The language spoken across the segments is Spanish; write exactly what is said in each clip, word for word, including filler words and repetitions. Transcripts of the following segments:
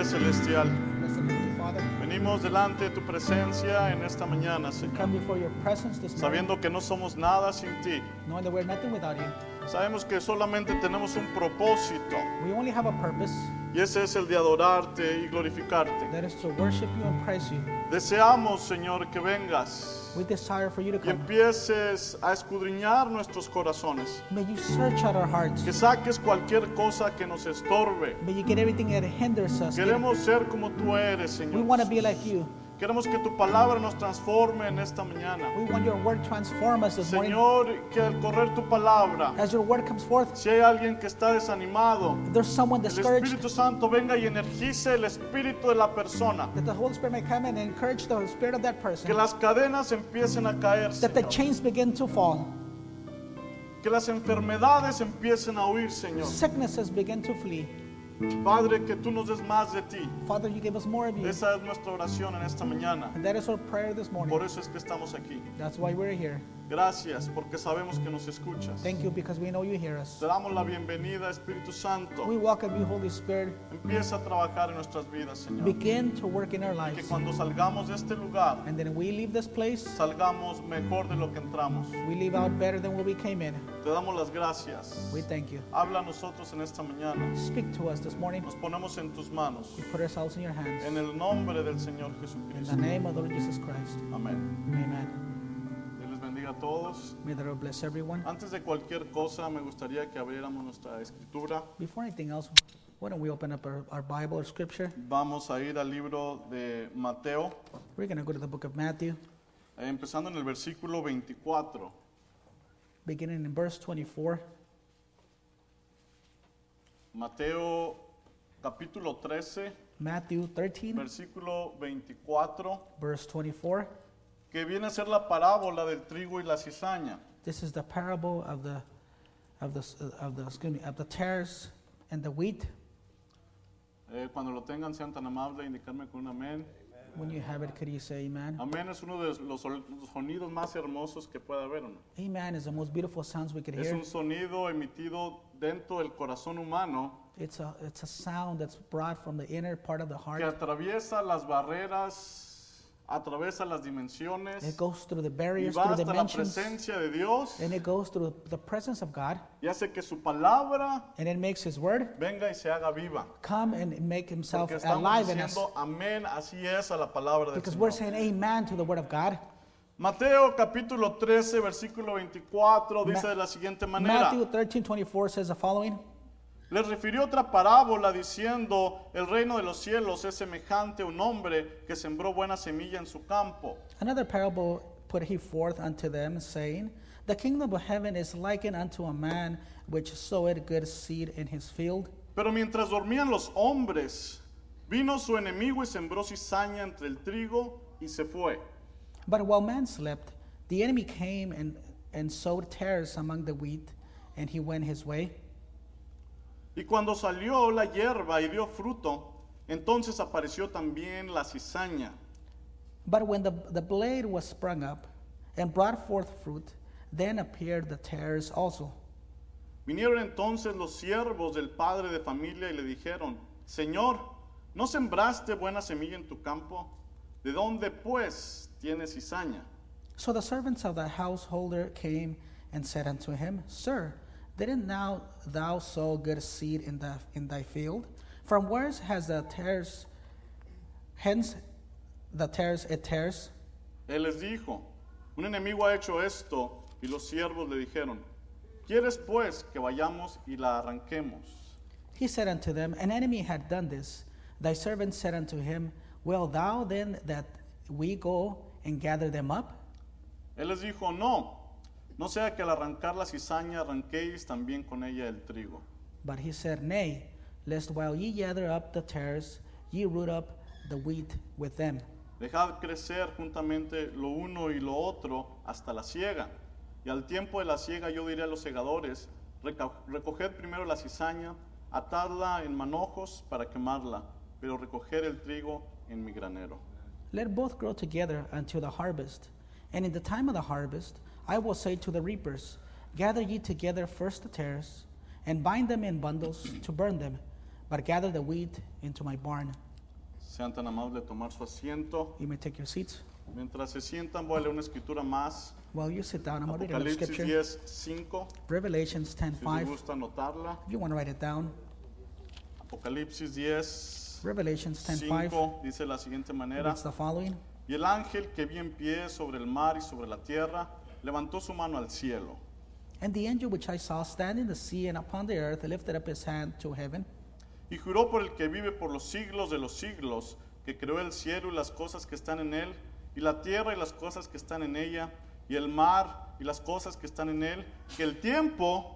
Padre Celestial, Blessed Heavenly Father, venimos delante de tu presencia en esta mañana, we Señor, come before your presence this morning, sabiendo que no somos nada sin ti. knowing that we're nothing without you. Sabemos que solamente tenemos un propósito, We only have a purpose, y ese es el de adorarte y glorificarte. that is to worship you and praise you. Deseamos, Señor, que vengas We desire for you to y come. empieces a escudriñar nuestros corazones, May you search out our hearts. que saques cualquier cosa que nos estorbe. May you get everything that hinders us. Queremos ser como tú eres, We Señor. want to be like you. Queremos que tu palabra nos transforme en esta mañana. We want your word to transform us this morning. Señor, que al correr tu palabra, As your word comes forth, si hay alguien que está desanimado, if there's someone el discouraged, Espíritu Santo venga y energice el espíritu de la persona. that the Holy Spirit may come in and encourage the spirit of that Que person, las cadenas empiecen a caer, that the Señor. chains begin to fall, Que las enfermedades empiecen a huir, Señor. sicknesses begin to flee. Padre, que tú nos des más de ti. Father, you give us more of you. Esa es nuestra oración en esta mañana. And that is our prayer this morning. Por eso es que estamos aquí. That's why we're here. Gracias, porque sabemos que nos escuchas. Thank you because we know you hear us. Te damos la bienvenida, Espíritu Santo. We welcome you, Holy Spirit. Empieza a trabajar en nuestras vidas, Señor. Begin to work in our Que lives. cuando salgamos de este lugar, And then we leave this place, salgamos mejor de lo que entramos. we leave out better than when we came in. Te damos las gracias. We thank you. Habla a nosotros en esta mañana. Speak to us this morning. Nos ponemos en tus manos. We put ourselves in your hands. En el nombre del Señor In Jesucristo. the name of the Lord Jesus Christ. Amén. Amen. Dios les bendiga a todos. May the Lord bless everyone. Antes de cualquier cosa, me gustaría que abriéramos nuestra escritura. Before anything else, why don't we open up our, our Bible or scripture? Vamos a ir al libro de Mateo, We're going to go to the book of Matthew, eh, empezando en el versículo veinticuatro. beginning in verse twenty-four. Mateo capítulo trece, Matthew thirteen, versículo veinticuatro, verse twenty-four. que viene a ser la parábola del trigo y la cizaña. This is the parable of the of the of the excuse me of the tares and the wheat. Eh, cuando lo tengan, sean tan amables de indicarme con un amén. When you have it, could you say amen? Amén es uno de los sol- sonidos más hermosos que puede haber, ¿o no? Amen is the most beautiful sounds we could Es hear. un sonido emitido dentro del corazón humano It's a it's a sound that's brought from the inner part of the que heart. atraviesa las barreras, atraviesa las dimensiones It goes through the y barriers, va through hasta la dimensions, presencia de Dios and it goes through the presence of God, y hace que su palabra and it makes His word venga y se haga viva. come and make Himself Porque estamos alive in us. diciendo amén, así es a la palabra del Because we're Señor. saying amen to the word of God. Mateo capítulo trece, versículo veinticuatro dice Ma- de la siguiente manera. Matthew thirteen twenty-four says the following. Les refirió otra parábola diciendo, el reino de los cielos es semejante a un hombre que sembró buena semilla en su campo. Another parable put he forth unto them, saying, the kingdom of heaven is likened unto a man which sowed good seed in his field. Pero mientras dormían los hombres, vino su enemigo y sembró cizaña entre el trigo y se fue. But while man slept, the enemy came and, and sowed tares among the wheat, and he went his way. Y cuando salió la hierba y dio fruto, entonces apareció también la cizaña. But when the, the blade was sprung up and brought forth fruit, then appeared the tares also. Vinieron entonces los siervos del padre de familia y le dijeron, Señor, ¿no sembraste buena semilla en tu campo? ¿De dónde pues tienes cizaña? So the servants of the householder came and said unto him, Sir, didn't now thou sow good seed in, the, in thy field? From whence has the tares, hence the tares it tares? Él les dijo, un enemigo ha hecho esto, y los siervos le dijeron, ¿quieres pues que vayamos y la arranquemos? He said unto them, An enemy had done this. Thy servant said unto him, Will thou then that we go and gather them up? Él les dijo, no, no sea que al arrancar la cizaña arranquéis también con ella el trigo. But he said, Nay, lest while ye gather up the tares, ye root up the wheat with them. Dejad crecer juntamente lo uno y lo otro hasta la siega. Y al tiempo de la siega yo diré a los segadores, reca- recoged primero la cizaña, atadla en manojos para quemarla, pero recoger el trigo en mi granero. Let both grow together until the harvest. And in the time of the harvest, I will say to the reapers, Gather ye together first the tares, and bind them in bundles to burn them, but gather the wheat into my barn. Sean tan amables de tomar su asiento. You may take your seats. Mientras se sientan, voy a leer una escritura más. While you sit down, I'm going to read another Apocalipsis scripture. diez, cinco. Revelations ten Si les five. gusta anotarla. If you want to write it down. Apocalipsis diez, Revelations ten five cinco dice de la siguiente manera. reads the following. Y el ángel que vi en pie sobre el mar y sobre la tierra, levantó su mano al cielo. And the angel which I saw stand in the sea and upon the earth lifted up his hand to heaven, Y juró por el que vive por los siglos de los siglos, que creó el cielo y las cosas que están en él, y la tierra y las cosas que están en ella, y el mar y las cosas que están en él, que el tiempo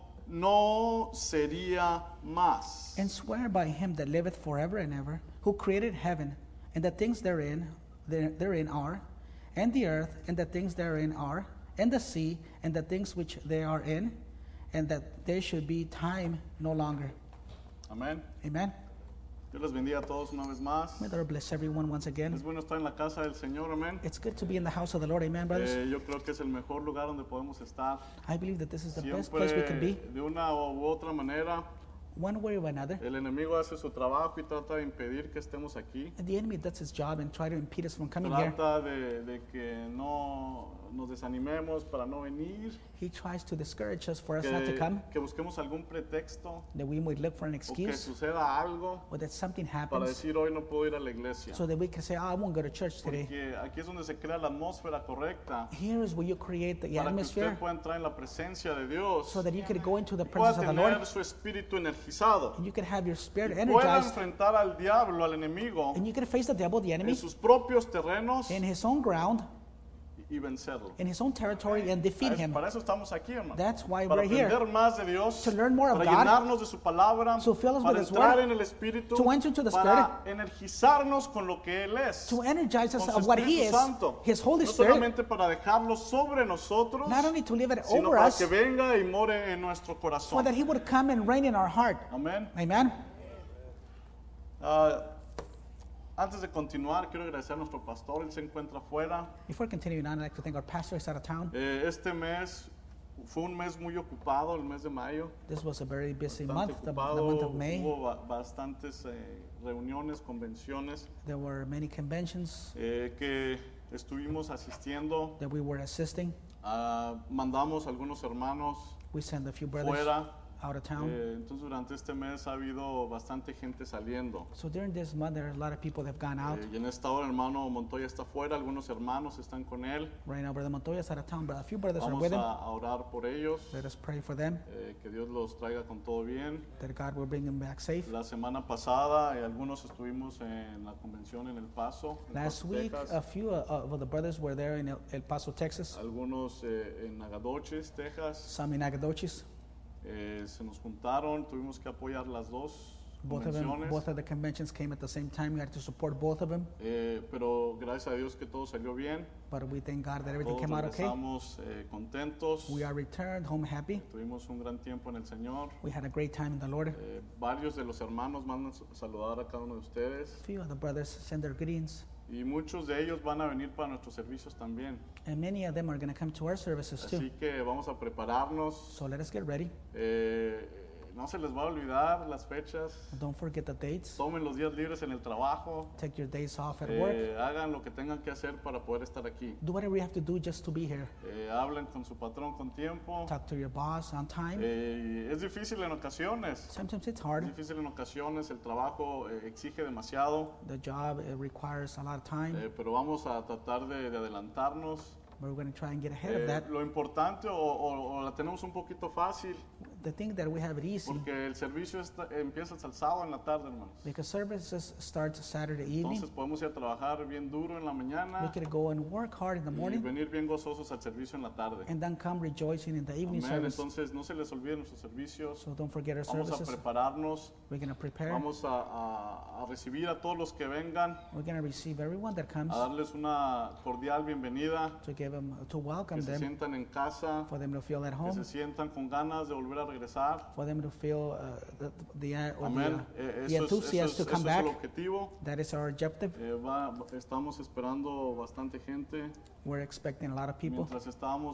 no sería más. and swear by him that liveth forever and ever, who created heaven, and the things therein, there, therein are, and the earth, and the things therein are, and the sea, and the things which they are in, and that there should be time no longer. Amén. Amen. Dios les bendiga a todos una vez más. May the Lord bless everyone once Es again. bueno estar en la casa del Señor, amén. It's good to be in the house of the Lord. Amen, brothers. Eh, yo creo que es el mejor lugar donde podemos estar. I believe that this is the best Siempre, place we can be, de una u otra manera, one way or another. el enemigo hace su trabajo y trata de impedir que estemos aquí. And the enemy does his job and try to impede us from coming here. Trata de, de que no nos desanimemos para no venir, He tries to discourage us for us not to que, come, que busquemos algún pretexto that we might look for an o que excuse, suceda algo or that something para happens, decir hoy no puedo ir a la iglesia. so that we can say, oh, I won't go to church today. Porque aquí es donde se crea la atmósfera correcta Here is where you create the para que atmosphere usted pueda entrar en la presencia de Dios so that you can go into the y pueda presence of the Lord tener su espíritu energizado and you can have your spirit y pueda energized enfrentar al diablo, al enemigo, and you can face the devil, the en enemy, sus propios terrenos in his own ground, y vencerlo. in his own territory, and defeat Es- him. Para eso estamos aquí, hermano. That's why Para we're here, aprender más de Dios, to learn more of para God, llenarnos de su palabra, to fill us para with His entrar word, en el Espíritu, to enter into the para energizarnos con lo que Él es, to energize us con su of what He Espíritu is, Santo. His Holy No Spirit, solamente para dejarlo sobre nosotros, not only to live it sino over para us, que venga y more en nuestro so corazón. that He would come and reign in our heart. Amén. Amen. Ah, antes de continuar, quiero agradecer a nuestro pastor, él se encuentra afuera. Before continuing on, I'd like to thank our pastor. He's out of town. Eh, este mes fue un mes muy ocupado, el mes de mayo. This was a very busy Bastante month, the, the ocupado, month of May. hubo ba- bastantes eh, reuniones, convenciones There were many conventions eh, que estuvimos asistiendo. that we were assisting. Ah, mandamos algunos hermanos We sent a few brothers fuera. out of town. Eh, entonces durante este mes ha habido bastante gente saliendo. So during this month, there are a lot of people that have gone out. Eh, y en esta hora el hermano Montoya está fuera, algunos hermanos están con él. Right now, Brother Montoya is out of town, but a few brothers are Vamos with him. a, a orar por ellos, Let us pray for them, eh, que Dios los traiga con todo bien. that God will bring them back safe. La semana pasada eh, algunos estuvimos en la convención en El Paso, en Last Paso, week, Texas. a few uh, of the brothers were there in El, El Paso, Texas, Algunos eh, en Nagadoches, Texas. some in Nagadoches. Eh, se nos juntaron, tuvimos que apoyar las dos Both of them, convenciones. both of the conventions came at the same time. We had to support both of them, Eh, pero gracias a Dios que todo salió bien. but we thank God that everything Todos came out okay. regresamos eh, contentos. We are returned home happy. Tuvimos un gran tiempo en el Señor. We had a great time in the Lord. Eh, varios de los hermanos mandan su- saludar a cada uno de ustedes. A few of the brothers send their greetings, Y muchos de ellos van a venir para nuestros servicios también. and many of them are going to come to our services too. Así que vamos a prepararnos. So let us get ready. Eh, no se les va a olvidar las fechas. Don't forget the dates. Tomen los días libres en el trabajo. Take your days off at work. Eh, hagan lo que tengan que hacer para poder estar aquí. Do whatever you have to do just to be here. Eh, hablen con su patrón con tiempo. Talk to your boss on time. Eh, es difícil en ocasiones. Sometimes it's Es hard. difícil en ocasiones. El trabajo eh, exige demasiado. The job it requires a lot of time, Eh, pero vamos a tratar de, de adelantarnos. but we're going to try and get ahead of Eh, that. lo importante o, o- o la tenemos un poquito fácil The thing that we have it easy porque el servicio está- empieza hasta el sábado en la tarde, hermanos. because services start Saturday evening. Entonces podemos ir a trabajar bien duro en la We mañana could go and work hard in the y morning venir bien gozosos al servicio en la tarde. and then come rejoicing in the evening Amén. service. Entonces no se les olviden nuestros servicios. So don't forget our Vamos a services. prepararnos. We're going to prepare. Vamos a, a- a recibir a todos los que vengan, We're going to receive everyone that comes a darles una cordial bienvenida, to give them to welcome que se them, sientan en casa, for them to feel at que home, se sientan con ganas de volver a regresar. for them to feel uh, the the, uh, or the, Amén. uh, Eh, the Eso es, eso enthusiasm es- to come eso es el back. objetivo. That is our objective. Eh, va- estamos esperando bastante gente. We're expecting a lot of people. Mientras estábamos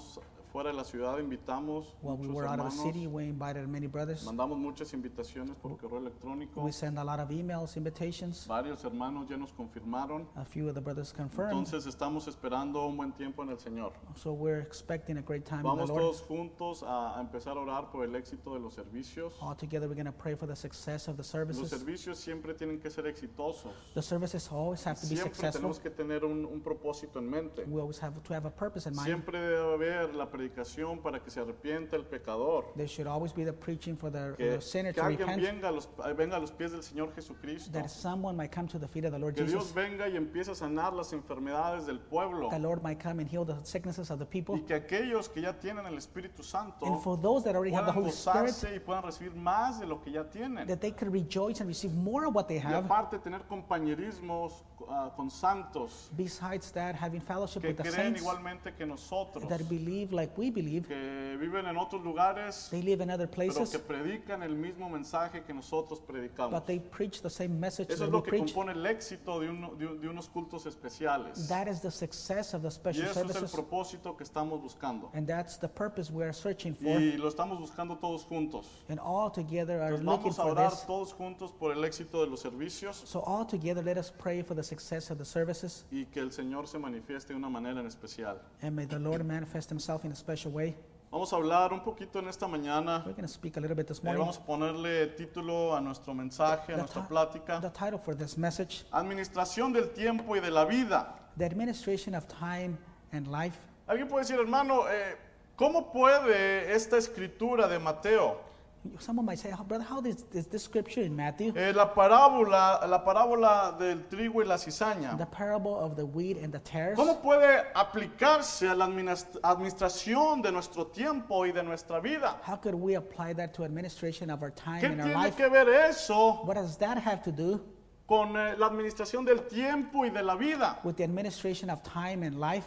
fuera de la ciudad invitamos When we muchos were out of the hermanos, city, we invited many brothers. mandamos muchas invitaciones por correo electrónico. We sent a lot of emails, invitations. Varios hermanos ya nos confirmaron. A few of the brothers confirmed. Entonces estamos esperando un buen tiempo en el Señor. So we're expecting a great time in Vamos the Lord. todos juntos a, a empezar a orar por el éxito de los servicios. All together, we're going to pray for the success of the Los services. servicios siempre tienen que ser exitosos. The services always have to be Siempre successful. tenemos que tener un, un propósito en mente. We always have to have a purpose in mind. Siempre debe haber la predicación para que se arrepienta el pecador. There should always be the preaching for the, Que, the sinner que to alguien repent. venga a, los, venga a los pies del Señor Jesucristo. That someone might come to the feet of the Lord Que Dios Jesus. venga y empiece a sanar las enfermedades del pueblo. The Lord might come and heal the sicknesses of the people. Y que aquellos que ya tienen el Espíritu Santo And for those that already have the puedan Holy Spirit, gozarse y puedan recibir más de lo que ya tienen. that they could rejoice and receive more of what they Y have. aparte tener compañerismos ah, con santos Besides that, having fellowship que with the creen saints igualmente que nosotros, that believe like we believe. que viven en otros lugares, They live in other pero places, que predican el mismo mensaje que nosotros predicamos. but they preach the same message Eso that es we lo que preach. compone el éxito de, uno- de- de unos cultos especiales. That is the success of the Y special eso es el services. propósito que estamos buscando. And that's the purpose we are searching for. Y lo estamos buscando todos juntos. And all together are Entonces looking vamos a for orar this. todos juntos por el éxito de los servicios So all together, let us pray for the success of the services. y que el Señor se manifieste de una manera en especial. And may the Lord manifest himself in a special way. Vamos a hablar un poquito en esta mañana. We're going to speak a little bit this Eh, morning. vamos a ponerle título a nuestro mensaje, a The, nuestra ti- plática. the title for this message, Administración del tiempo y de la vida. The Administration of Time and Life. Alguien puede decir, hermano, eh, ¿cómo puede esta escritura de Mateo, Someone might say, oh, brother, how is, is this scripture in Matthew? eh, la parábola, la parábola del trigo y la cizaña, The parable of the wheat and the tares. cómo puede aplicarse a la administ- administración de nuestro tiempo y de nuestra vida? How could we apply that to administration of our time ¿Qué and our tiene life? que ver eso What does that have to do con eh, la administración del tiempo y de la vida? with the administration of time and life?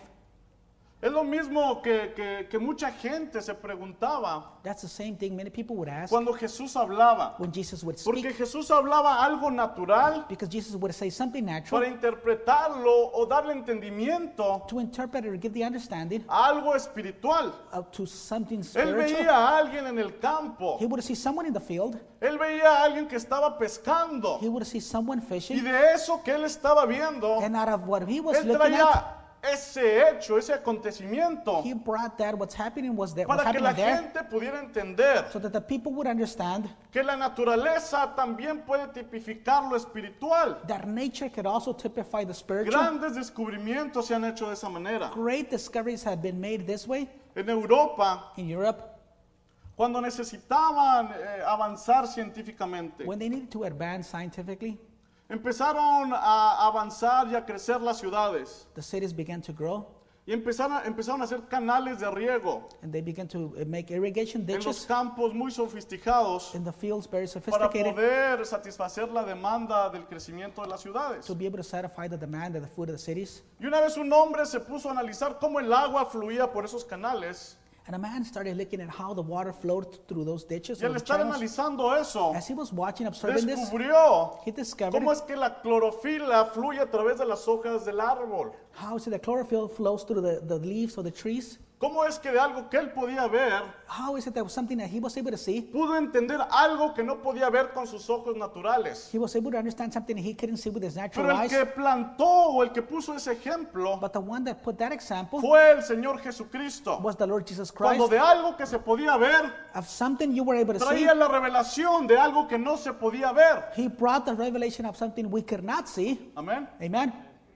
Es lo mismo que, que- que mucha gente se preguntaba That's the same thing many people would ask cuando Jesús hablaba. when Jesus would Porque speak. Jesús hablaba algo natural Because Jesus would say something para natural interpretarlo o darle entendimiento to interpret it or give the understanding a algo espiritual. of to something Él spiritual. veía a alguien en el campo. He would see someone in the field. Él veía a alguien que estaba pescando. He would see someone Y fishing. de eso que él estaba viendo, And out of what he was él looking at, traía ese hecho, ese acontecimiento, he brought that what's happening was that what's para que la happening there, gente pudiera entender so that the people would understand que la naturaleza también puede tipificar lo espiritual. that nature could also typify the spiritual. Grandes descubrimientos se han hecho de esa manera. Great discoveries have been made this way En Europa, in Europe cuando necesitaban eh, avanzar científicamente, when they needed to advance scientifically. empezaron a avanzar y a crecer las ciudades. The cities began to grow Y empezaron, a- empezaron a hacer canales de riego and they began to uh, make irrigation en los ditches campos muy sofisticados in the fields, very para sophisticated, poder satisfacer la demanda del crecimiento de las ciudades. to be able to satisfy the demand of the food of the cities. Y una vez un hombre se puso a analizar cómo el agua fluía por esos canales. And a man started looking at how the water flowed through those ditches. Y or al the estar channels. analizando eso, As he was watching, observing this, descubrió he discovered cómo es que la clorofila fluye a través de las hojas del árbol. how is it that chlorophyll flows through the, the leaves of the trees. Cómo es que de algo que él podía ver, How is it that was something that he was able to see? pudo entender algo que no podía ver con sus ojos naturales. He was able to understand something he couldn't see with his natural Pero el eyes. que plantó o el que puso ese ejemplo But the one that put that example fue el Señor Jesucristo. was the Lord Jesus Cuando Christ. de algo que se podía ver, Of something you were able to see, traía la revelación de algo que no se podía ver. he brought the revelation of something we could not see. Amén. Amen.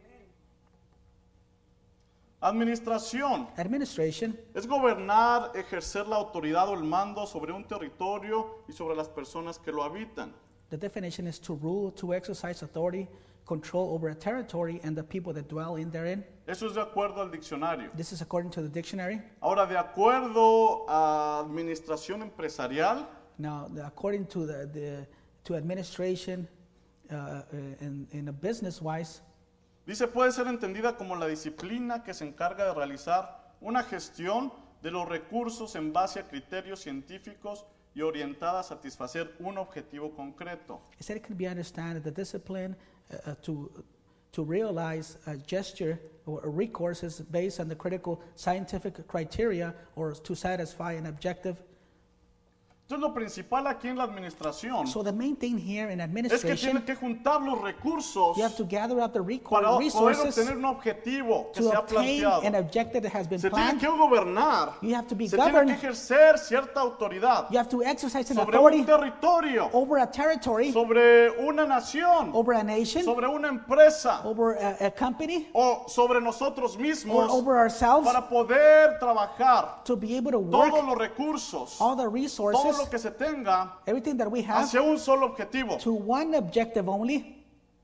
Administración Administration es gobernar, ejercer la autoridad o el mando sobre un territorio y sobre las personas que lo habitan. The definition is to rule, to exercise authority, control over a territory and the people that dwell in therein. Eso es de acuerdo al diccionario. This is according to the dictionary. Ahora, de acuerdo a administración empresarial, Now, the- according to the, the to administration uh, uh, in, in a business wise, dice, puede ser entendida como la disciplina que se encarga de realizar una gestión de los recursos en base a criterios científicos y orientada a satisfacer un objetivo concreto. it said it can be understood that the discipline uh, uh, to to realize a gesture or a recourse is based on the critical scientific criteria or to satisfy an objective. Entonces lo principal aquí en la administración So the main thing here in es que administration, tiene que juntar los recursos you have to gather up the para recor- poder resources obtener un objetivo que se to ha obtain planteado. an objective that has been Se tiene planned. que gobernar, You have to be se tiene que governed. ejercer cierta autoridad You have to exercise an sobre authority un territorio, over a territory, sobre una nación, over a nation, sobre una empresa over a, a company, o sobre nosotros or mismos over ourselves para poder trabajar to be able to todos work los recursos, all the todo resources, lo que se tenga everything that we have hacia un solo objetivo. to one objective only.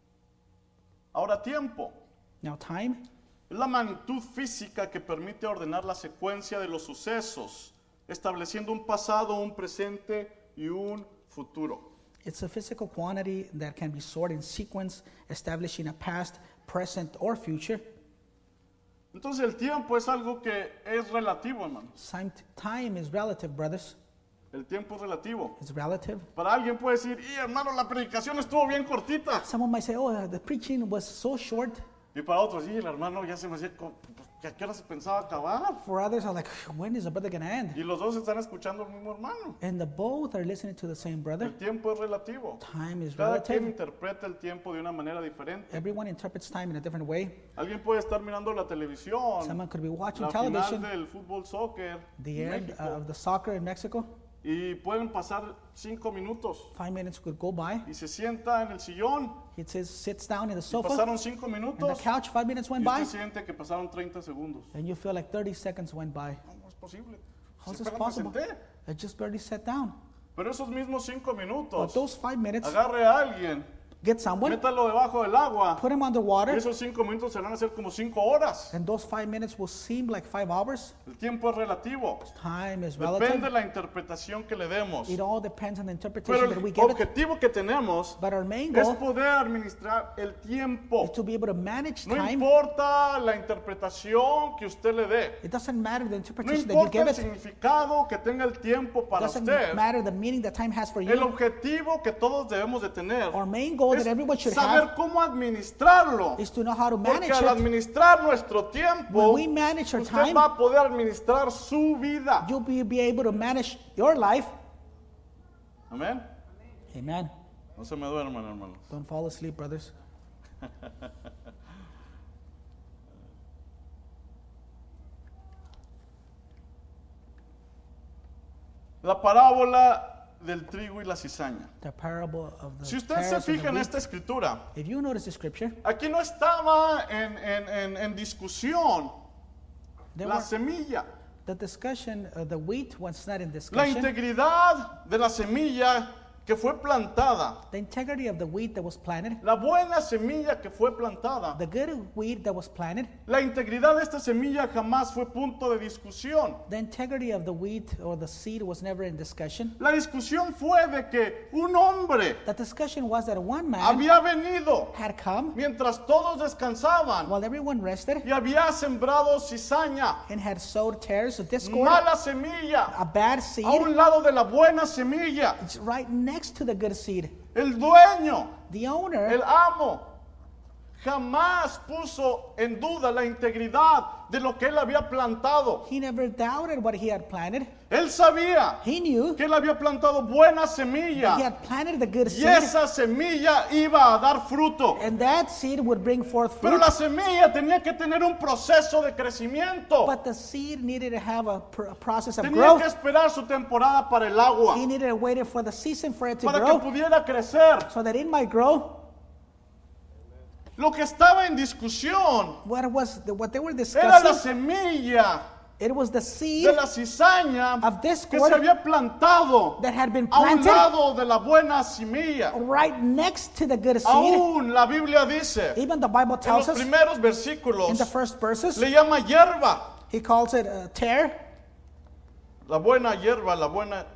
Ahora tiempo. Now time Es la magnitud física que permite ordenar la secuencia de los sucesos, estableciendo un pasado, un presente y un futuro. It's a physical quantity that can be sorted in sequence, establishing a past, present, or future. Entonces el tiempo es algo que es relativo, hermanos. Time, time is relative, brothers. El tiempo es relativo. It's relative. Para alguien puede decir, y hermano, la predicación estuvo bien cortita. Someone might say, oh, uh, the preaching was so short. Y para otros, y el hermano ya se me hacía, co- que a qué hora se pensaba acabar. For others are like, when is the brother going to end? Y los dos están escuchando al mismo hermano. And the both are listening to the same brother. El tiempo es relativo. Time is Cada quien relative. interpreta el tiempo de una manera diferente. Everyone interprets time in a different way. Alguien puede estar mirando la televisión, Someone could be watching la final television, del fútbol soccer the en end México, of the soccer in Mexico. y pueden pasar cinco minutos Five minutes could go by. y se sienta en el sillón He says, sits down in the y sofa, pasaron cinco and the minutos couch, five minutes y went by, usted siente que pasaron treinta segundos. and you feel like thirty seconds went by. ¿Cómo es posible? How is Si this apenas me possible? senté. I just barely sat down. Pero esos mismos cinco But minutos, those five minutes, agarre a alguien, get someone, métalo debajo del agua put him y underwater, esos cinco minutos se van a hacer como cinco horas. and those five minutes will seem like five hours. El tiempo es relativo. Time is Depende relative. de la interpretación que le demos. It all depends on the Pero interpretation that we el give it. objetivo que tenemos But our main es goal poder administrar el tiempo. is to be able to manage No time. importa la interpretación que usted le dé. It doesn't matter the No interpretation that you importa give el it. significado que tenga el tiempo It para doesn't usted. matter the meaning that time has for El you. objetivo que todos debemos de tener Our main goal es that everyone should saber have cómo administrarlo. is to know how to Porque manage al it. administrar nuestro tiempo, When we manage our usted time, va a poder administrar su vida. you'll be, be able to manage your life. Amén. Amen. No se me duerman, hermanos. Don't fall asleep, brothers. La parábola del trigo y la cizaña. The parable of the Si usted se tares and the fija en wheat. esta escritura, If you notice the scripture, aquí no estaba en, en- en- en discusión there la were, semilla. the discussion, uh, the wheat was not in La discussion. integridad de la semilla que fue plantada, The integrity of the wheat that was planted, la buena semilla que fue plantada, the good wheat that was planted, la integridad de esta semilla jamás fue punto de discusión. the integrity of the wheat or the seed was never in discussion. La discusión fue de que un hombre The discussion was that one man había venido had come mientras todos descansaban while everyone rested y había sembrado cizaña, and had sowed tares of discord, mala semilla, a bad a seed, un lado de la buena semilla. it's right next to the good seed. El dueño, The owner, el amo, jamás puso en duda la integridad de lo que él había plantado. he never doubted what he had planted. Él sabía He knew que él había plantado buena he semilla had planted the good y seed, esa semilla iba a dar fruto. and that seed would bring forth Pero fruit. la semilla tenía que tener un proceso de crecimiento. But the seed needed to have a, pr- a process of Tenía growth. que esperar su temporada para el agua, He needed to wait for the season for it to para que grow, pudiera crecer. so that it might grow. Lo que estaba en discusión What was the, what they were era la discussing? semilla It was the de seed la cizaña of que discord se había plantado that had been a un planted lado de la buena semilla. right next to the good seed. Aún la Biblia dice, Even the Bible en tells los us primeros in versículos, the first verses, le llama hierba. he calls it a tear, La buena hierba, la buena,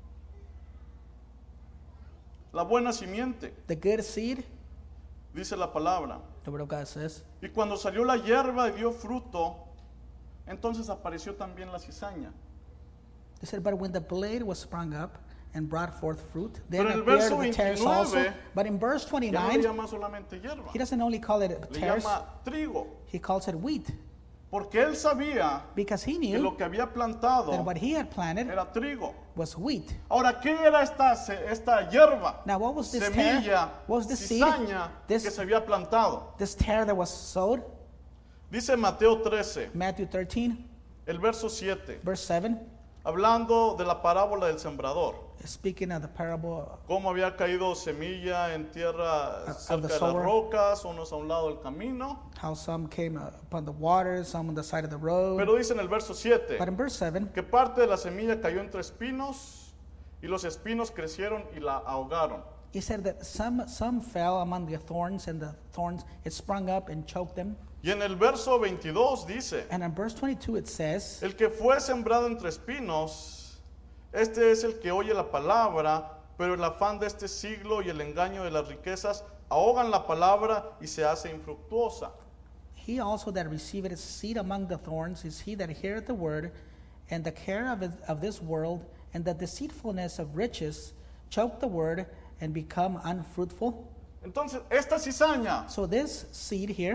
la buena simiente, the good seed. dice la palabra. The word of God says, Y cuando salió la hierba y dio fruto, entonces apareció también la cizaña. he said, but when the blade was sprung up and brought forth fruit. Then Pero en el appeared verso the tares also. veintinueve, But in verse Ya no le twenty-nine, llama solamente hierba, he doesn't only call it le tares, llama trigo, he calls it wheat. porque él sabía Because he que knew lo que había plantado that what he had planted era trigo. was wheat. Ahora, ¿qué era esta, esta hierba? Now what was this Semilla, tare? What was this seed? cizaña This- que se había plantado. This tare that was sowed? Dice Mateo trece, Matthew thirteen, el verso siete, verse seven, hablando de la parábola del sembrador. speaking of the parable Cómo había caído semilla en tierra of cerca the de las sower. rocas, unos a un lado del camino. how some came uh, upon the waters, some on the side of the road. Pero dice en el verso siete, But in verse seven, que parte de la semilla cayó entre espinos y los espinos crecieron y la ahogaron. he said that some some fell among the thorns, and the thorns it sprung up and choked them. Y en el verso veintidós dice, And in verse twenty-two it says, el que fue sembrado entre espinos, este es el que oye la palabra, pero el afán de este siglo y el engaño de las riquezas ahogan la palabra y se hace infructuosa. he also that receiveth seed among the thorns is he that heareth the word, and the care of, it, of this world and the deceitfulness of riches choke the word and become unfruitful. Entonces, esta cizaña, So this seed here,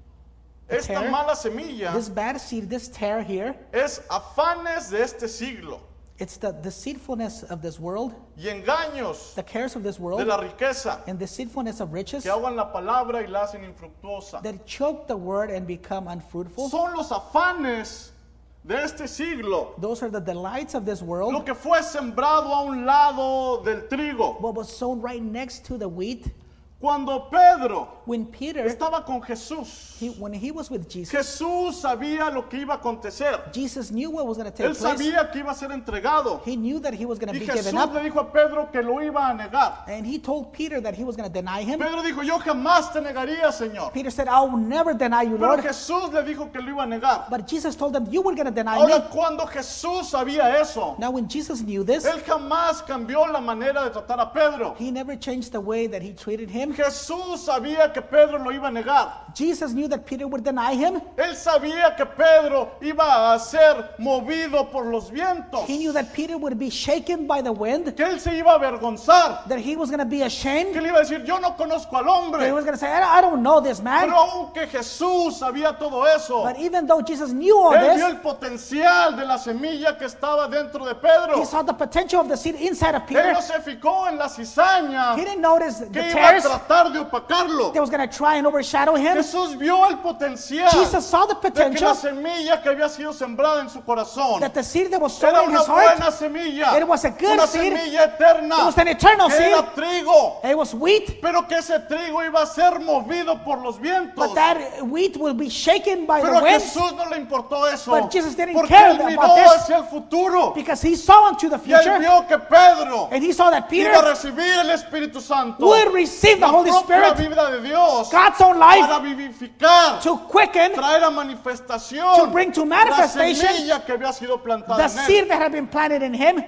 the esta tare, mala semilla, this bad seed, this tare here, es afanes de este siglo it's the deceitfulness of this world, y engaños the cares of this de world, la riqueza and deceitfulness of riches que ahogan la palabra y la hacen infructuosa. that choke the word and become unfruitful. Son los afanes de este siglo, Those are the delights of this world. lo que fue sembrado a un lado del trigo. What was sown right next to the wheat. Cuando Pedro When Peter, estaba con Jesús, he, when he was with Jesus, Jesús sabía lo que iba a acontecer. Jesus knew what was going to take Él place. sabía que iba a ser entregado. He knew that he was going to Y be Jesús given up. le dijo a Pedro que lo iba a negar. And he told Peter that he was going to deny him. Pedro dijo, yo jamás te negaría, Señor. Peter said, I will never deny you, Pero Lord. Jesús le dijo que lo iba a negar. But Jesus told him, you were going to deny Ahora, me. cuando Jesús sabía eso, Now when Jesus knew this, Él jamás cambió la manera de tratar a Pedro. he never changed the way that he treated him. Jesús sabía que Pedro lo iba a negar. Jesus knew that Peter would deny him. Él sabía que Pedro iba a ser movido por los vientos. He knew that Peter would be shaken by the wind, Que él se iba a avergonzar. that he was going to be ashamed. Que él iba a decir, yo no conozco al That he hombre. was going to say, I I don't know this man. Pero aunque Jesús sabía todo eso, But even though Jesus knew all él vio this, el potencial de la semilla que estaba dentro de Pedro. he saw the potential of the seed inside of Él Peter. no se fijó en la cizaña He didn't notice the que iba a tares tratar de opacarlo. that was going to try and overshadow him. Jesús vio el potencial Jesus saw the de que potential la semilla que había sido sembrada en su corazón that the seed that was sown era in una his heart, buena semilla, it was a good una seed. semilla eterna, It was an eternal que seed. era trigo, it was wheat, pero que ese trigo iba a ser movido por los vientos. but that wheat will be shaken by Pero the a wind Jesús no le importó eso, But Jesus didn't porque care él miró about this. hacia el futuro because he saw into the y él future, vio que Pedro and he saw that Peter iba a recibir el Espíritu Santo, would receive the la Holy propia Spirit, vida de Dios, God's own para life, vivificar, to quicken traer a manifestación to bring to manifestation la semilla que había sido plantada the en seed él. that had been planted in him.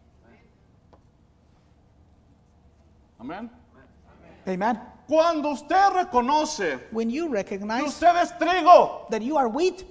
Amén. Amen. Cuando usted reconoce When you que recognize usted es trigo, that you are wheat,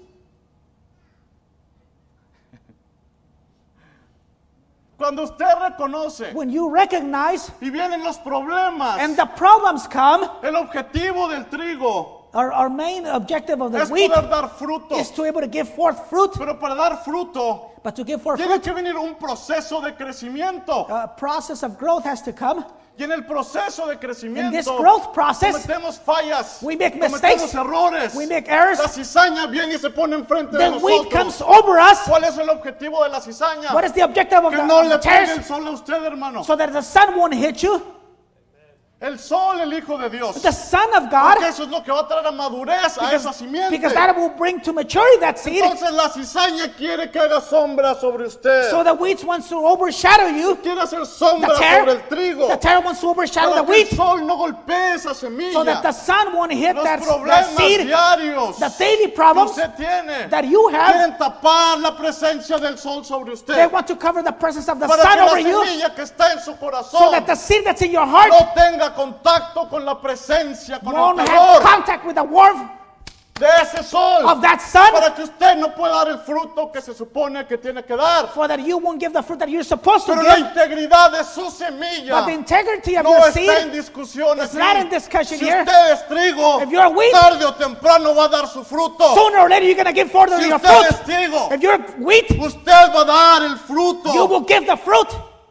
cuando usted reconoce when you recognize y vienen los problemas, and the problems come, el objetivo del trigo our, our main objective of the es wheat poder dar fruto, is to be able to give forth fruit. pero para dar fruto But to give forth tiene fruit, que venir un proceso de crecimiento. a process of growth has to come. Y en el proceso de In crecimiento this growth process, cometemos fallas, we make cometemos mistakes, errores. we make errors. La cizaña viene y se pone enfrente de The wheat nosotros. comes over us. ¿Cuál es el objetivo de la cizaña? What is the objective of Que the, no of the le pegue el tares? sol a usted, hermano. So that the sun won't hit you. El sol, el Hijo de Dios. The Son of God, Porque eso es lo que va a traer a madurez a esa because, simiente. because that will bring to maturity that seed. Entonces la cizaña quiere que haga sombra sobre usted. So the wheat wants to overshadow you. Quiere hacer sombra The tare, sobre el trigo. the tare wants to overshadow Para the que el wheat, sol no golpee esa semilla. so that the sun won't hit Los that, that problemas seed. diarios The daily que problems usted tiene that you have, quieren tapar la presencia del sol sobre usted. they want to cover the presence of the Para sun que la over you, semilla que está en su so corazón that the seed that's in your heart no tenga contacto con la presencia, con won't el have calor. contact with the warmth. de ese sol, of that sun, para que usted no pueda dar el fruto que se supone que tiene que dar. for that you won't give the fruit that you're supposed to Pero la give. integridad de su semilla But the integrity of no your está en seed, discusión it's aquí. not in discussion Si here. usted es trigo, If you're wheat, tarde o temprano va a dar su fruto. sooner or later you're going to give forth Si your usted es fruit. trigo, If you're wheat, usted va a dar el fruto. you will give the fruit.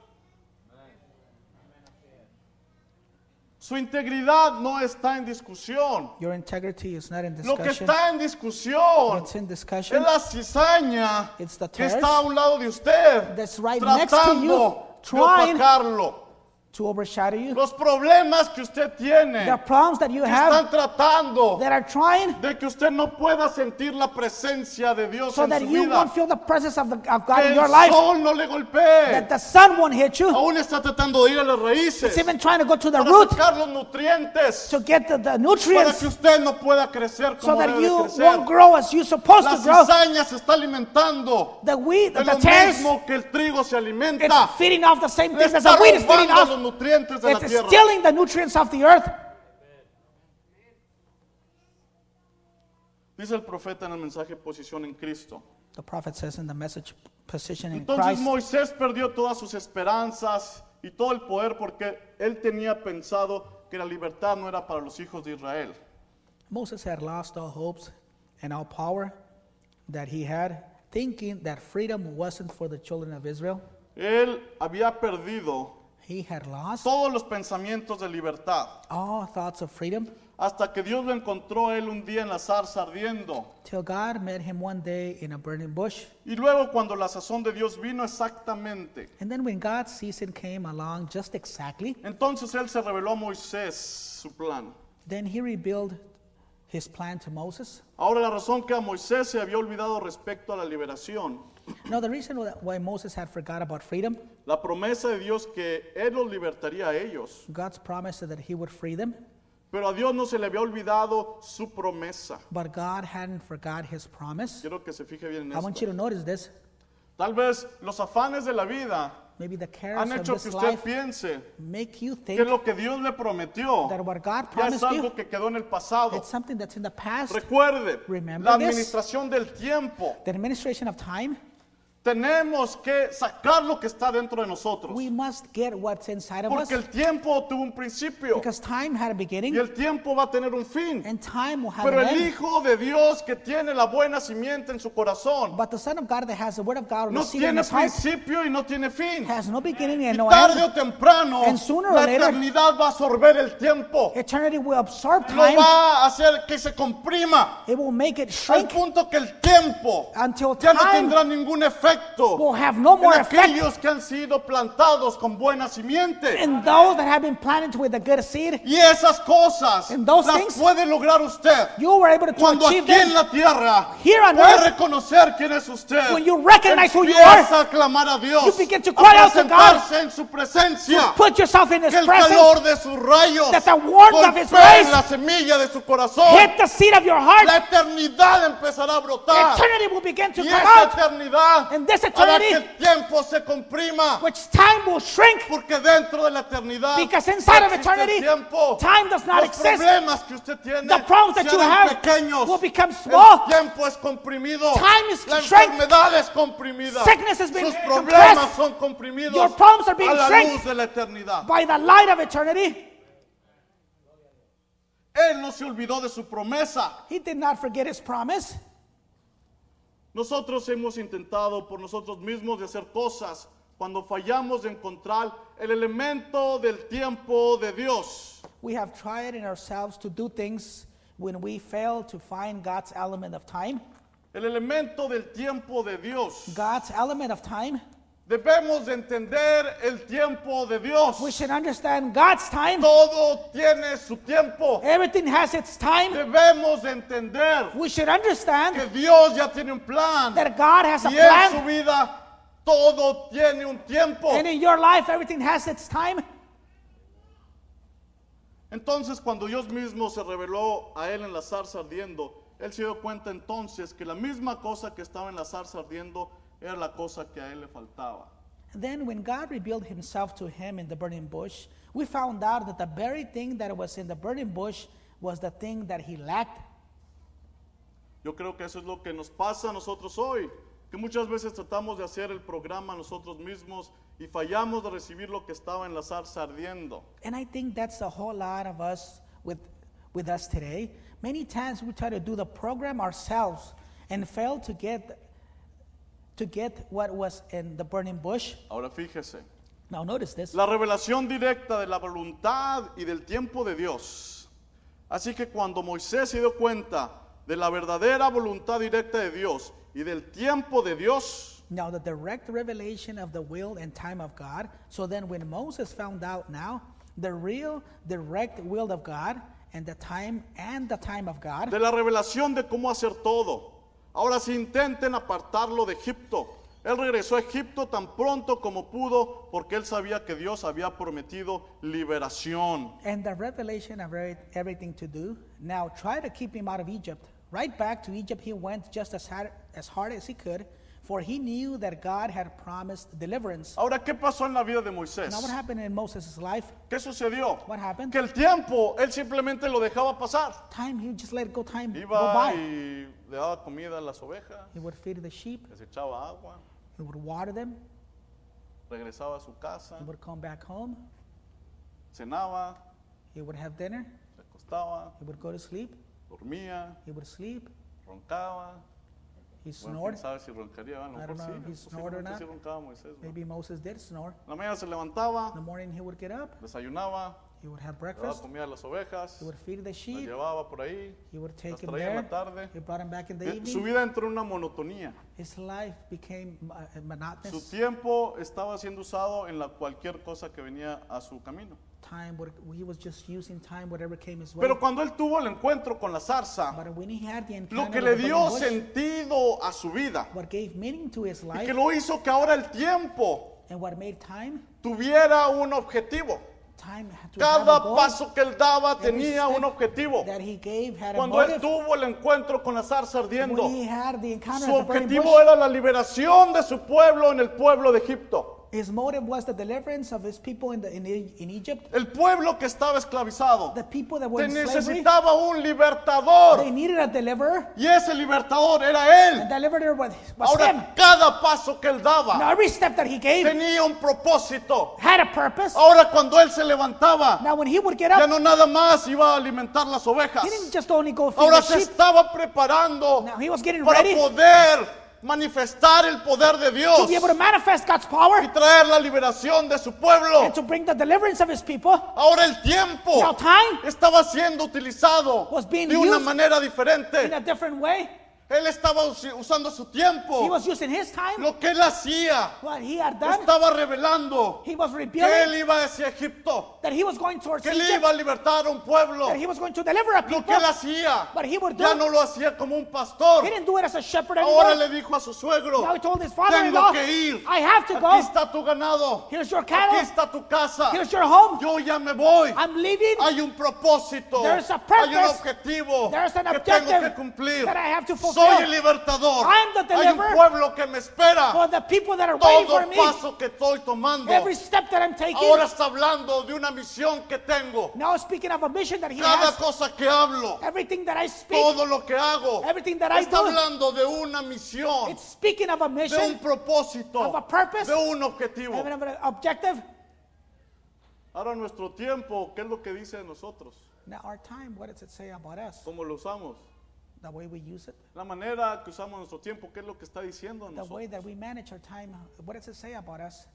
Su integridad no está en discusión. Your integrity is not in Lo que discussion. está en discusión What's in es discussion la cizaña It's the que tares está a un lado de usted, that's right next to you, tratando de trying opacarlo. to overshadow you. Los problemas que usted tiene The problems that you que have están tratando that are trying de que usted no pueda sentir la presencia de Dios so en that su you vida. won't feel the presence of, the, of God Que in el your life, sol no le golpee. that the sun won't hit you. Aún está tratando de ir a las raíces It's even trying to go to the para root sacar los nutrientes to get the, the para nutrients que usted no pueda crecer so como that debe you crecer. won't grow as you're supposed La to grow. cizaña se está alimentando The wheat, de the lo tares, mismo que el trigo se it's alimenta. feeding off the same Le things as está the wheat is feeding robando los off. nutrientes de la It's tierra. stealing the nutrients of the earth. Dice el profeta en el mensaje Posición en Cristo. The prophet says in the message, position in Entonces Christ. Moisés perdió todas sus esperanzas y todo el poder porque él tenía pensado que la libertad no era para los hijos de Israel. Moses had lost all hopes and all power that he had, thinking that freedom wasn't for the children of Israel. Él había perdido He had lost todos los pensamientos de libertad all thoughts of freedom hasta que Dios lo encontró a él un día en la zarza ardiendo. till God met him one day in a burning bush. Y luego cuando la sazón de Dios vino exactamente, And then when God's season came along just exactly, entonces él se reveló a Moisés su plan. then he revealed his plan to Moses. Ahora la razón que a Moisés se había olvidado respecto a la liberación, Now the reason wh- why Moses had forgot about freedom, la promesa de Dios que él los libertaría a ellos, God's promise that he would free them, pero a Dios no se le había olvidado su promesa. but God hadn't forgot his promise. Quiero que se fije bien en I want you esto. to notice this. Tal vez los afanes de la vida Maybe the cares han of hecho this que usted life piense make you que think lo que Dios le prometió that what God ya es promised you, algo que quedó en el pasado. it's something that's in the past. Recuerde, Remember la this. administración del tiempo. The administration of time, Tenemos que sacar lo que está dentro de nosotros. we must get what's inside of us Porque el tiempo tuvo un principio because time had a y beginning el tiempo va a tener un fin. and time will have Pero an el end. Hijo de Dios que tiene la buena simiente en su corazón But the Son of God that has the Word of God on no the seed in tiene his heart principio y no tiene fin. has no beginning and Y no tarde end. o temprano And sooner or la later, eternidad va a absorber el tiempo. Eternity will absorb Lo time. va a hacer que se comprima It will make it al shrink punto que el tiempo until ya no time tendrá ningún efecto will have no en more effect aquellos que han sido plantados con buena simiente. in those that have been planted with a good seed. Y esas cosas And those las things, puede lograr usted You were able to cuando achieve aquí en them la tierra Here on puede earth. reconocer quién es usted. When you recognize who you Empieza are, a clamar a Dios, you begin to cry a out to God. presentarse en su presencia. put yourself in His Que el presence, calor de sus rayos that the warmth of His golpee rays la semilla de su corazón. hit the seed of your heart. La eternidad empezará a brotar. Eternity will begin to Y come esa out, eternidad And this hará que eternity, el tiempo se comprima. which time will shrink Porque dentro de la eternidad because inside no of existe el eternity, tiempo. time does not Los exist. problemas que usted tiene The problems that se you harán have pequeños. will become small. El tiempo es comprimido. Time is la shrink. enfermedad es comprimida. Sickness has been Sus problemas compressed. son comprimidos Your problems are being a la shrink. luz de la eternidad. By the light of eternity, Él no se olvidó de su promesa. He did not forget His promise. Nosotros hemos intentado por nosotros mismos de hacer cosas cuando fallamos de encontrar el elemento del tiempo de Dios. We have tried in ourselves to do things when we fail to find God's element of time. El elemento del tiempo de Dios. God's element of time. Debemos de entender el tiempo de Dios. We should understand God's time. Todo tiene su tiempo. Everything has its time. Debemos de entender We should understand que Dios ya tiene un plan. that God has a Y en su plan. vida todo tiene un tiempo. And in your life, everything has its time. Entonces, cuando Dios mismo se reveló a él en la zarza ardiendo, él se dio cuenta entonces que la misma cosa que estaba en la zarza ardiendo era la cosa que a él le faltaba. Then when God revealed Himself to him in the burning bush, we found out that the very thing that was in the burning bush was the thing that he lacked. Yo creo que eso es lo que nos pasa a nosotros hoy, que muchas veces tratamos de hacer el programa nosotros mismos y fallamos de recibir lo que estaba en la zarza ardiendo. And I think that's a whole lot of us with, with us today. Many times we try to do the program ourselves and fail to get, to get what was in the burning bush. Ahora fíjese, Now notice this. la revelación directa de la voluntad y del tiempo de Dios. Así que cuando Moisés se dio cuenta de la verdadera voluntad directa de Dios y del tiempo de Dios, Now the direct revelation of the will and time of God. So then when Moses found out now the real direct will of God and the time and the time of God, de la revelación de cómo hacer todo. Ahora si intenten apartarlo de Egipto. Él regresó a Egipto tan pronto como pudo porque él sabía que Dios había prometido liberación. and the revelation of every- everything to do. Now try to keep him out of Egypt. Right back to Egypt he went just as hard, as hard as he could, for he knew that God had promised deliverance. Ahora, ¿qué pasó en la vida de Moisés? Now what happened in Moses' life? ¿Qué sucedió? What happened? Que el tiempo, él simplemente lo dejaba pasar. Time, he just let it go, time go Iba by. y le daba comida a las ovejas, He would feed the sheep, les echaba agua, he would water them, regresaba a su casa, he would come back home, cenaba, he would have dinner, se acostaba, he would go to sleep, dormía, he would sleep, roncaba. he Bueno, snored. quién sabe si roncaría, a lo I mejor don't know sí, if he snored or posiblemente not. sí roncaba Moisés, ¿no? Maybe Moses did snore. En la mañana se levantaba, In the morning he would get up, desayunaba, he would have le daba breakfast, comida a las ovejas, he would feed the las sheep, llevaba por ahí, he would take las him traía en la there, tarde. he brought him back in the Eh, Su evening. vida entró en una monotonía. His life became uh, Su monotonous. tiempo estaba siendo usado en la cualquier cosa que venía a su camino. Time, would- he was just using time, whatever came his way. Pero cuando él tuvo el encuentro con la zarza, But when he had the lo encounter que with le the dio burning bush, sentido a su vida what gave meaning to his y life que lo hizo que ahora el tiempo and what made time, tuviera un objetivo. time had to have a Cada goal. paso que él daba Every tenía step un objetivo. that he gave had a Cuando él motive. tuvo el encuentro con la zarza ardiendo, When he had the encounter su at the burning objetivo bush, era la liberación de su pueblo en el pueblo de Egipto. his motive was the deliverance of his people in, the, in, E- in Egypt. El pueblo que estaba esclavizado The people that were te in slavery, necesitaba un libertador. they needed a deliverer. Y ese libertador era The él. deliverer was, was him. Ahora cada paso que él Now daba every step that he gave tenía un propósito. had a purpose. Ahora cuando él se levantaba, Now when he would get ya up, no nada más iba a alimentar las ovejas. he didn't just only go feed Ahora the se sheep. estaba preparando Now he was getting para ready poder manifestar el poder de Dios to be able to manifest God's y power traer la liberación de su pueblo. and to bring the deliverance of his people. Ahora el tiempo Now time estaba siendo utilizado was being de una used manera in diferente. a different way. Él estaba usi- usando su He tiempo. was using his time, Lo que él hacía what he had done. estaba revelando He was que revealing él iba hacia Egipto, that he was going towards que él Egypt, iba a libertar a un pueblo. that he was going to deliver a Lo people. que él hacía But he would do ya it. no lo hacía como un pastor. He didn't do it as a shepherd Ahora anymore. le dijo a su suegro, Now he told his tengo father-in-law, que ir. I have to Aquí go. está tu ganado. Here's your Aquí cattle. está tu casa. Here's your home. Yo ya me voy. I'm leaving. Hay un propósito. There's a Hay un purpose. objetivo There's an que tengo que objective cumplir. that I have to fulfill. Soy el libertador. I'm the Hay un deliverer. pueblo que me espera. For the people that are waiting Todo for me, paso que estoy tomando. every step that I'm taking. Ahora está hablando de una misión que tengo. Now speaking of a mission that he Cada has, cosa que hablo, everything that I speak, todo lo que hago, everything that I está do, hablando de una misión, it's speaking of a de un mission, propósito, of a purpose, de un objetivo. of an objective. Ahora nuestro tiempo, ¿qué es lo que dice de nosotros? Now our time, what does it say about us? ¿Cómo lo usamos? The way we use it, La manera que usamos nuestro tiempo, ¿qué es lo que está diciendo de the way nosotros? that we manage our time, what does it say about us?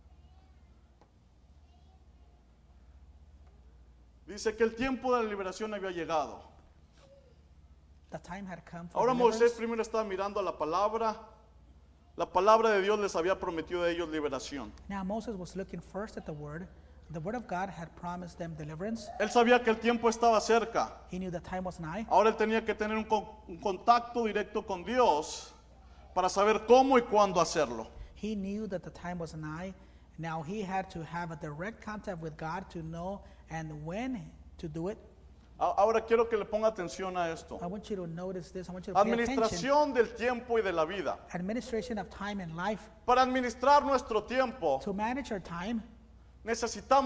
Dice que el tiempo de la liberación había llegado. The time had come for Ahora deliverance. Moisés primero estaba mirando a la palabra. La palabra de Dios les había prometido a ellos liberación. Now Moses was looking first at the word. The word of God had promised them deliverance. Él sabía que el tiempo estaba cerca. He knew the time was nigh. Ahora él tenía que tener un, con- un contacto directo con Dios para saber cómo y cuándo hacerlo. He knew that the time was nigh. Now he had to have a direct contact with God to know and when to do it. A- Ahora quiero que le ponga atención a esto. I want you to notice this. I want you to pay attention. Administración del tiempo y de la vida. Administration of time and life. Para administrar nuestro tiempo To manage our time, necesitamos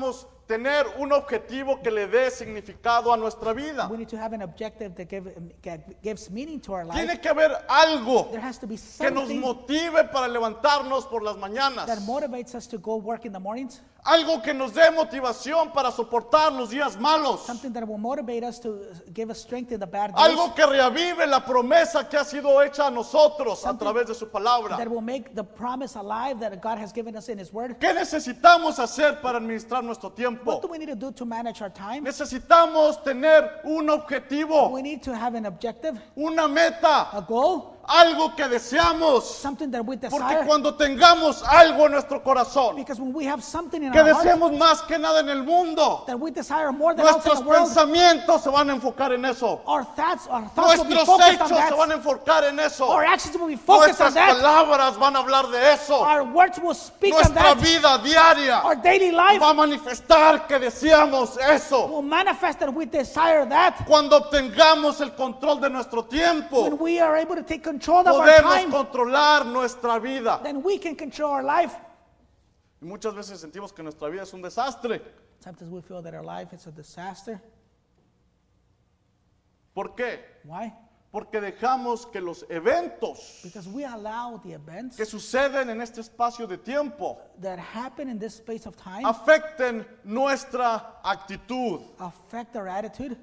tener un objetivo que le dé significado a nuestra vida. We need to have an objective that give, that gives meaning to our life. Tiene que haber algo There has to be que nos something motive para levantarnos por las mañanas. that motivates us to go work in the mornings. Algo que nos dé motivación para soportar los días malos. Something that will motivate us to give us strength in the bad days. Algo que reavive la promesa que ha sido hecha a nosotros a Something través de su palabra. that will make the promise alive that God has given us in His Word. ¿Qué necesitamos hacer para administrar nuestro tiempo? What do we need to do to manage our time? Necesitamos tener un objetivo, We need to have an objective, una meta, a goal, algo que deseamos. something that we Porque desire. cuando tengamos algo en nuestro corazón, Because when we have something in que our heart deseamos más que nada en el mundo, that we desire more than else in nuestros the world, pensamientos se van a enfocar en eso. our thoughts, our thoughts will be Nuestros focused on hechos se van a that. enfocar en eso. Our actions will be focused on Nuestras that. palabras van a hablar de eso. Our words will speak on Nuestra that. vida diaria Our daily life va a manifestar que deseamos eso. will manifest that we desire that. Cuando obtengamos el control de nuestro When tiempo, we are able to take control of our podemos time, controlar nuestra vida. then we can control our life. Y muchas veces sentimos que nuestra vida es un desastre. Sometimes we feel that our life is a disaster. ¿Por qué? Why? Porque dejamos que los eventos Because we allow the events que suceden en este espacio de tiempo that happen in this space of time afecten nuestra actitud. affect our attitude.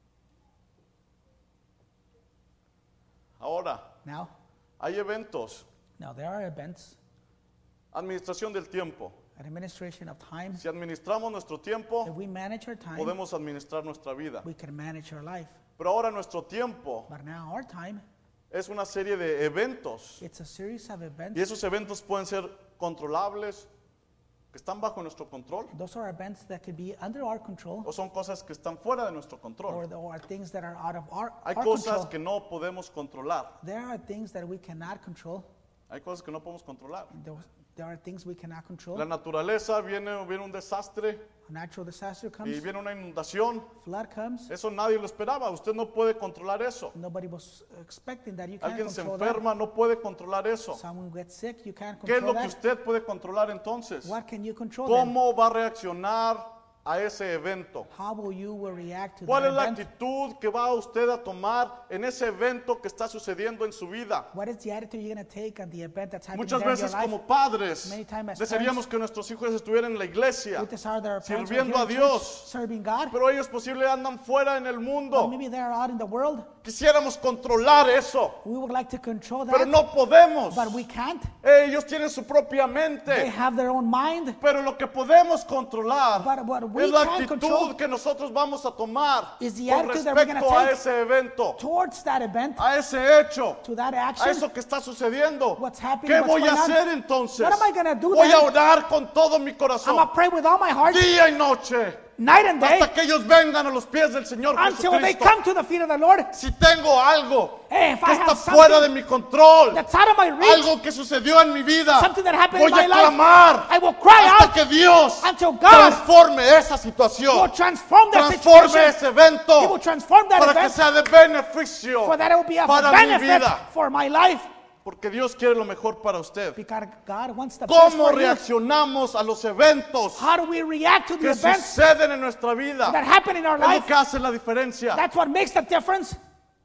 Ahora, Now, hay eventos, now there are events, administración del tiempo. administration of time. Si administramos nuestro tiempo, If we manage our time, podemos administrar nuestra vida. we can manage our life. Pero ahora nuestro tiempo But now our time, es una serie de eventos. it's a series of Y events. esos eventos pueden ser controlables, que están bajo nuestro control, Those are events that could be under our control, o son cosas que están fuera de nuestro or, control. the, or things that are out of our, Hay our cosas control. que no podemos controlar. There are things that we cannot control. Hay cosas que no podemos controlar. There, there are things we cannot control. La naturaleza, viene, viene un desastre A natural disaster y comes, viene una inundación. flood comes. Eso nadie lo esperaba. Usted no puede controlar eso. Nobody was expecting that. You can't Alguien se control that. enferma, no puede controlar eso. Someone gets sick, you can't ¿Qué es lo control que that. usted puede controlar entonces? What can you control then? ¿Cómo va a reaccionar a ese evento? How will you will react to ¿Cuál that es la event? actitud que va usted a tomar en ese evento que está sucediendo en su vida? What is the attitude you're going to take on the event that's happening Muchas there in your veces life? como padres Many times as desearíamos parents, que nuestros hijos estuvieran en la iglesia, we desire that our parents are sirviendo here a in church, Dios, serving God. pero ellos posiblemente andan fuera en el Or mundo. maybe they're out in the world. Quisiéramos controlar eso, We would like to control pero that, no podemos. but we can't. Ellos tienen su propia They mente, have their own mind. pero lo que podemos controlar But what we es la can actitud control que nosotros vamos a tomar is the con attitude that we're gonna respecto a take ese evento, Towards that event, a ese hecho, to that a action. eso que está sucediendo. What's happening, ¿Qué what's voy a going on? hacer entonces? What am I gonna do Voy a then? orar con todo mi I'm corazón, going to pray with all my heart, día y noche, night and day, hasta que ellos vengan a los pies del Señor until they Jesucristo. come to the feet of the Lord. Si tengo algo Hey, if que I está have fuera de something mi control, that's out of my reach, algo que sucedió en mi vida, something that happened voy in my a life, clamar I will cry hasta out que Dios until God transforme esa will situación, transform that transforme situation. ese evento He will transform that para que event sea de beneficio for that it will be of para mi benefit vida, for my life. porque Dios quiere lo mejor para usted. Because God wants the best ¿Cómo for you. reaccionamos a los eventos How do we react to the que events suceden en nuestra vida? that happen in our Es lo life? que hace la diferencia. That's what makes the difference.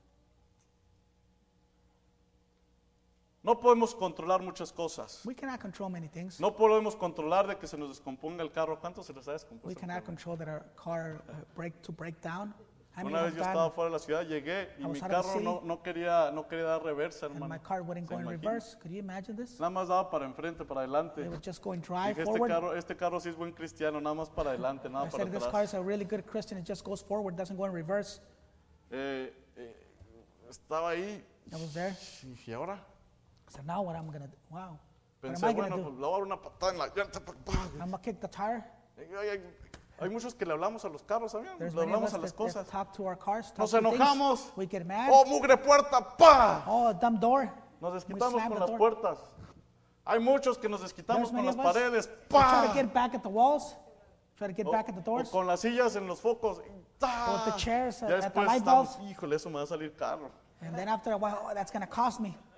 No podemos controlar muchas cosas. We cannot control many things. No podemos controlar de que se nos descomponga el carro. ¿Cuánto se les ha We descompuesto? el cannot carro? control that our car uh, break to break down. How many Una vez have yo gone estaba fuera de la ciudad, llegué y I was mi out of the carro no, city. no quería, no quería dar reversa, and hermano. my car wouldn't ¿Se go in imagina? reverse? Could you imagine this? Nada más daba para enfrente, para adelante. They would just go and drive Dije, este forward. carro, este carro sí es buen cristiano, nada más para adelante, nada I para said, this car atrás. is a really good Christian. It just goes forward, doesn't go in reverse. Eh, eh, estaba ahí I was there. y dije, ¿y ahora? I said, now what am I going to do? Wow. What am Pensé, I going to bueno, do? pues le voy a dar una patada en la llanta. pa, pa. I'm going to kick the tire. Y hay, hay- hay muchos que le hablamos a los carros, ¿sabían? There's Le many of hablamos us a las that, that cosas. talk to our cars, talk Nos to things. enojamos. We get mad. ¡Oh, mugre puerta! ¡Pa! Oh, dumb door. Nos We desquitamos slam con the las door. puertas. Hay muchos que nos desquitamos There's con many las of us paredes. that try ¡Pa! to get back at the walls, try to get O, back at the o doors. con las sillas en los focos. y ¡ta! With the chairs Ya at- at the después light estamos, bulbs. híjole, eso me va a salir caro. And then after a while, oh, that's going to cost me.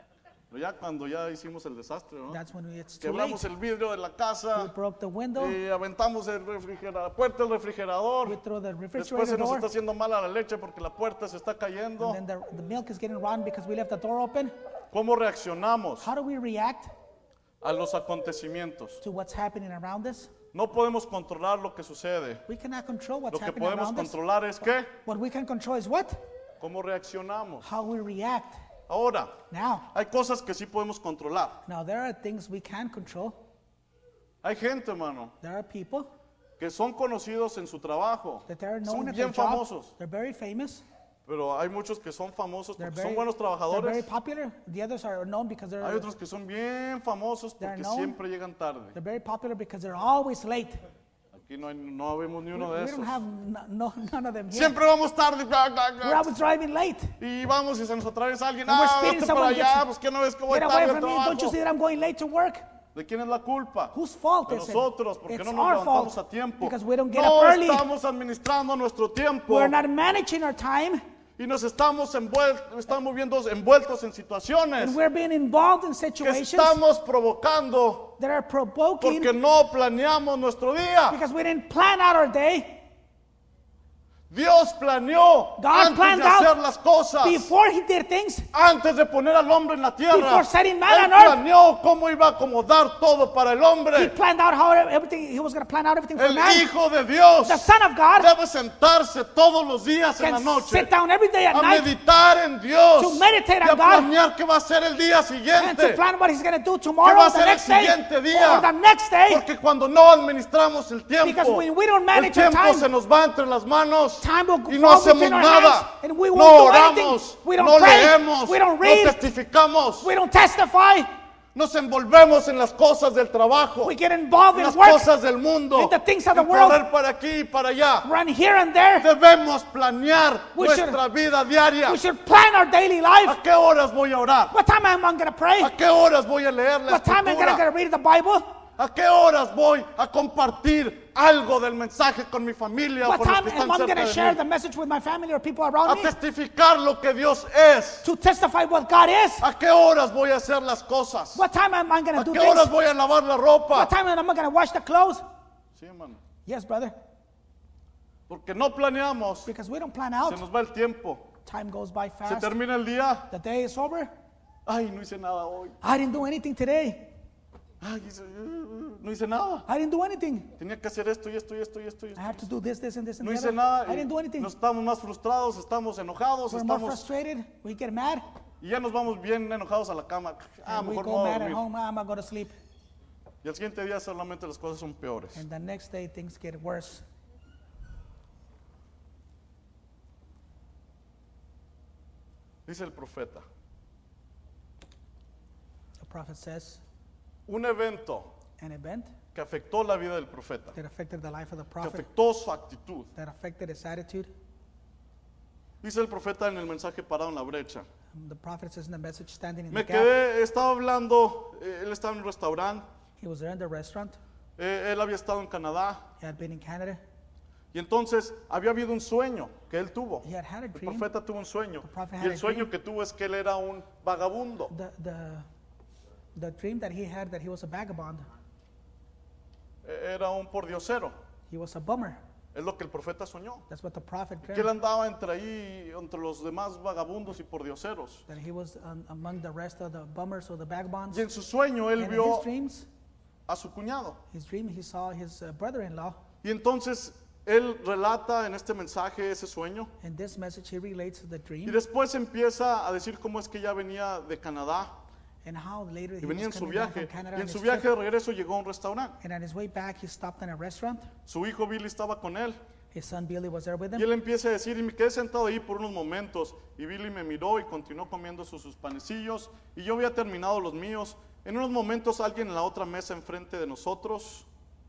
Pero ya cuando ya hicimos el desastre, ¿no? That's when it's too late. Quebramos el vidrio de la We casa, broke the window. y aventamos el refrigerador, la puerta del We refrigerador. throw the Después refrigerator se nos door. está haciendo mala la leche porque la puerta se está cayendo. And then the, the milk is getting rotten because we left the door open. ¿Cómo reaccionamos How do we react a los acontecimientos? to what's happening around us? No podemos controlar lo que sucede. We cannot control what's Lo que happening podemos around us. controlar es qué, What we can control is what? cómo reaccionamos. How we react. Ahora, Now, hay cosas que sí podemos controlar. now there are things we can control. Hay gente, hermano, There are people que son conocidos en su trabajo. that they're Son known at their bien job. famosos. They're very famous. Pero hay muchos que son famosos They're porque very, son buenos they're very trabajadores. popular. The others are known because Hay they're, otros que son bien famosos They're porque known. siempre llegan tarde. they're very popular because they're always late. Aquí no, hay, no vemos ni We, uno de we esos. don't have no, no, none of them here. Siempre vamos tarde. bla, bla, bla. We're always driving late. Y vamos y se nos atraviesa alguien. And we're Ah, speeding, vete para someone allá, gets- pues que no ves que voy Get away tarde al from me. Don't you trabajo. see that I'm going late to work? ¿De quién es la culpa? Whose fault De is it? nosotros, porque It's no nos our levantamos fault a tiempo. because we don't get No up early. estamos administrando nuestro tiempo We're not managing our time, y nos estamos, envuel- estamos viendo envueltos en situaciones and we're being involved in que situations estamos provocando that are provoking porque no planeamos nuestro día. because we didn't plan out our day. Dios planeó God antes planned de hacer out las cosas, before He did things, antes de poner al hombre en la tierra. Before setting man Él on earth. planeó cómo iba a acomodar todo para el He hombre. planned out how everything, He was going to plan out everything for El man. Hijo de Dios The Son of God debe sentarse todos los días en la can noche sit down every day at a night meditar en Dios to meditate y a on God planear qué va a ser el día and to siguiente. plan what He's going to do ¿Qué tomorrow, va a the ser el next day, siguiente día? or the next day. Porque cuando no administramos el tiempo, Because when we don't el manage our tiempo time, se nos va entre las manos Time will y no fall hacemos between our nada. hands, and we won't No do anything. oramos, We don't no pray, leemos, we don't no read, testificamos. we don't testify, Nos envolvemos en las cosas del trabajo, we get involved en in las work, cosas del mundo, in the things of the en world. correr para aquí y para allá. run here and there. Debemos planear We nuestra vida diaria. We should plan our daily life. ¿A qué horas voy a orar? What time am I going to pray? ¿A qué horas voy a leer la What time am I escritura? going to read the Bible? ¿A qué horas voy a compartir algo del mensaje con mi familia o What con los time que am están I going cerca to de share mí? the message with my family or people A around me? testificar lo que Dios es. To testify what God is? ¿A qué horas voy a hacer las cosas? What time am I going ¿A to do qué horas things? voy a lavar la ropa? What time am I going to wash the clothes? Sí, hermano. Yes, brother. Porque no planeamos, Because we don't plan se out. nos va el tiempo. Time goes by Se fast. termina el día. The day is over. Ay, no hice nada hoy. I didn't do anything today. Ay, hice- uh, no hice nada. I didn't do anything. Tenía que hacer esto y esto y esto y esto. Y I esto. have to do this, this, and this, and No the hice other. nada. I y didn't do anything. Nos estamos más frustrados, estamos enojados, We're more estamos frustrated. We get mad. y ya nos vamos bien enojados a la cama. Ah, And we mejor go no voy a mad at dormir. home. I'm going to go to sleep. Y al siguiente día solamente las cosas son peores. And the next day things get worse. Dice el profeta, The prophet says, un evento an event que afectó la vida del profeta, that affected the life of the que prophet, afectó su actitud. that affected his attitude. Dice el profeta en el mensaje parado en la brecha. The prophet says in the message, standing in Me the gap. quedé, estaba hablando, eh, él estaba en un restaurante, He was there in the restaurant. eh, él había estado en Canadá He had been in Canada. y entonces había habido un sueño que él tuvo. He had had a El dream. profeta tuvo un sueño prophet y had el a sueño dream. que tuvo es que él era un vagabundo. The, the, the dream that he had that he was a vagabond. Eh, Era un pordiosero. He was a bummer. Es lo que el profeta soñó. That's what the prophet Que él dreamed. andaba entre ahí, entre los demás vagabundos y pordioseros. That he was um, among the rest of the bummers or the vagabonds. Y en su sueño él And in vio his dreams, a su cuñado. his dream, he saw his uh, brother-in-law. Y entonces él relata en este mensaje ese sueño. In this message, he relates the Y dream después empieza a decir cómo es que ya venía de Canadá and how later y he venía en was su coming back viaje. from Canada Y on en his su trip. viaje de regreso llegó a un restaurante. And on his way back, he stopped in a restaurant. Su hijo Billy estaba con él. His son Billy was there with Y him. él empieza a decir, y me quedé sentado ahí por unos momentos. Y Billy me miró y continuó comiendo sus, sus panecillos. Y yo había terminado los míos. En unos momentos alguien en la otra mesa enfrente de nosotros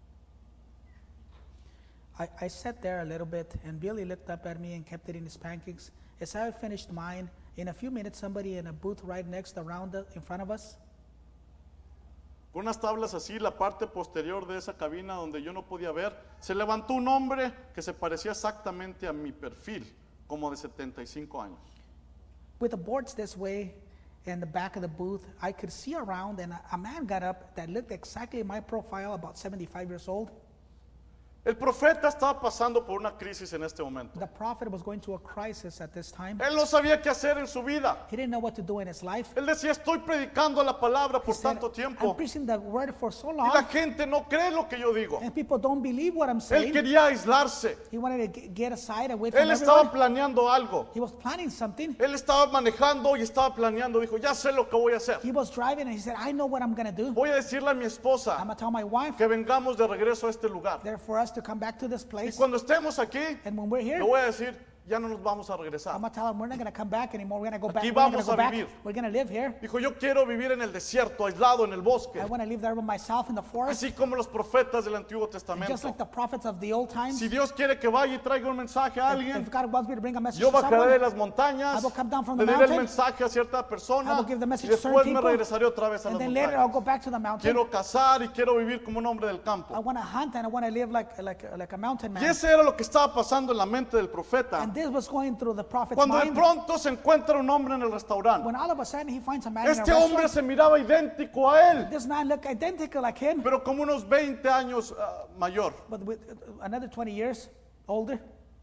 I, I sat there a little bit, and Billy looked up at me and kept eating his pancakes. As I finished mine, in a few minutes, somebody in a booth right next around the, in front of us, con unas tablas así, la parte posterior de esa cabina donde yo no podía ver, se levantó un hombre que se parecía exactamente a mi perfil, como de setenta y cinco años. with the boards this way, in the back of the booth, I could see around, and a, a man got up that looked exactly my profile, about seventy-five years old. El profeta estaba pasando por una crisis en este momento. The prophet was going through a crisis at this time. Él no sabía qué hacer en su vida. He didn't know what to do in his life. Él decía, estoy predicando la palabra He por said, tanto I'm tiempo preaching the word for so y la long, gente no cree lo que yo digo. and people don't believe what I'm Él saying. quería aislarse. He wanted to ge- get aside, away from Él estaba everyone. planeando algo. He was planning something. Él estaba manejando y estaba planeando. Dijo, ya sé lo que voy a hacer. He was driving, and he said, I know what I'm going to do. Voy a decirle a mi I'm esposa going to tell my wife, que vengamos de regreso a este lugar. there for us to come back to this Y place. cuando estemos aquí, And when we're here, le voy a decir, ya no nos vamos a I'm regresar. going to tell them we're not going to come back anymore. We're going to go back. Aquí We're not going vamos to go a back. vivir. We're going to live here. Dijo, yo quiero vivir en el desierto, aislado en el bosque. I want to live there by myself in the forest, Así como los profetas del Antiguo just Testamento. like the prophets of the old times. Si Dios quiere que vaya y traiga un mensaje a If, alguien, if God wants me to bring a message yo to bajaré de someone, las montañas, I will come down from le the diré el mountain. mensaje a cierta I persona will give the y message to certain después me people, regresaré otra vez a and las then later I'll montañas. go back to the mountain. Quiero cazar y quiero vivir como un hombre del I campo. want to hunt and I want to live like, like, like a mountain Y man. ese era lo que estaba pasando en la mente del profeta. And this was going through the prophet's Cuando de mind. pronto se encuentra un hombre en el restaurante. When all of a sudden he finds a man in Este a hombre restaurant, se miraba idéntico a él, this man looked identical like him, pero como unos veinte años ah, mayor. but with uh, another twenty years older.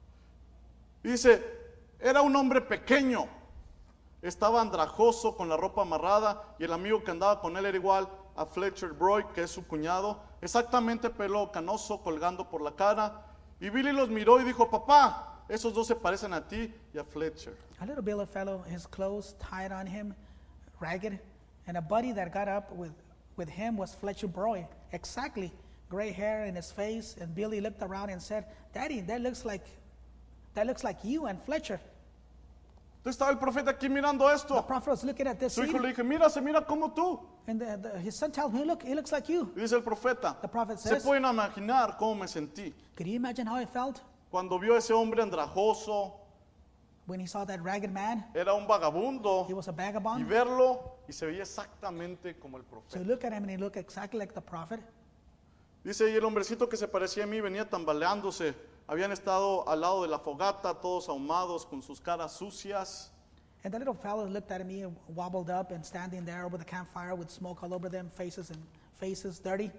Dice, era un hombre pequeño, estaba andrajoso con la ropa amarrada y el amigo que andaba con él era igual a Fletcher Broy, que es su cuñado, exactamente pelo canoso colgando por la cara. Y Billy los miró y dijo, papá, esos dos se parecen a ti y a Fletcher. A little Billy fellow, his clothes tied on him, ragged, and a buddy that got up with, with him was Fletcher Broy, exactly, gray hair in his face. And Billy looked around and said, Daddy, that looks like, that looks like you and Fletcher. Entonces estaba el profeta aquí mirando The esto. prophet was looking at this Su hijo scene, le dije, mira, se mira como tú. and the, the, his son tells me, look, he looks like you. Y dice el profeta, The prophet se says, pueden imaginar cómo me sentí could you imagine how he felt cuando vio a ese hombre andrajoso, when he saw that ragged man? era un vagabundo, He was a y vagabond. verlo y se veía exactamente como el So profeta. you look at him and he looked exactly like the prophet. Dice, y el hombrecito que se parecía a mí venía tambaleándose. Habían estado al lado de la fogata, todos ahumados, con sus caras sucias. And the little fellow looked at me, wobbled up, and standing there over the campfire with smoke all over them, faces and faces dirty.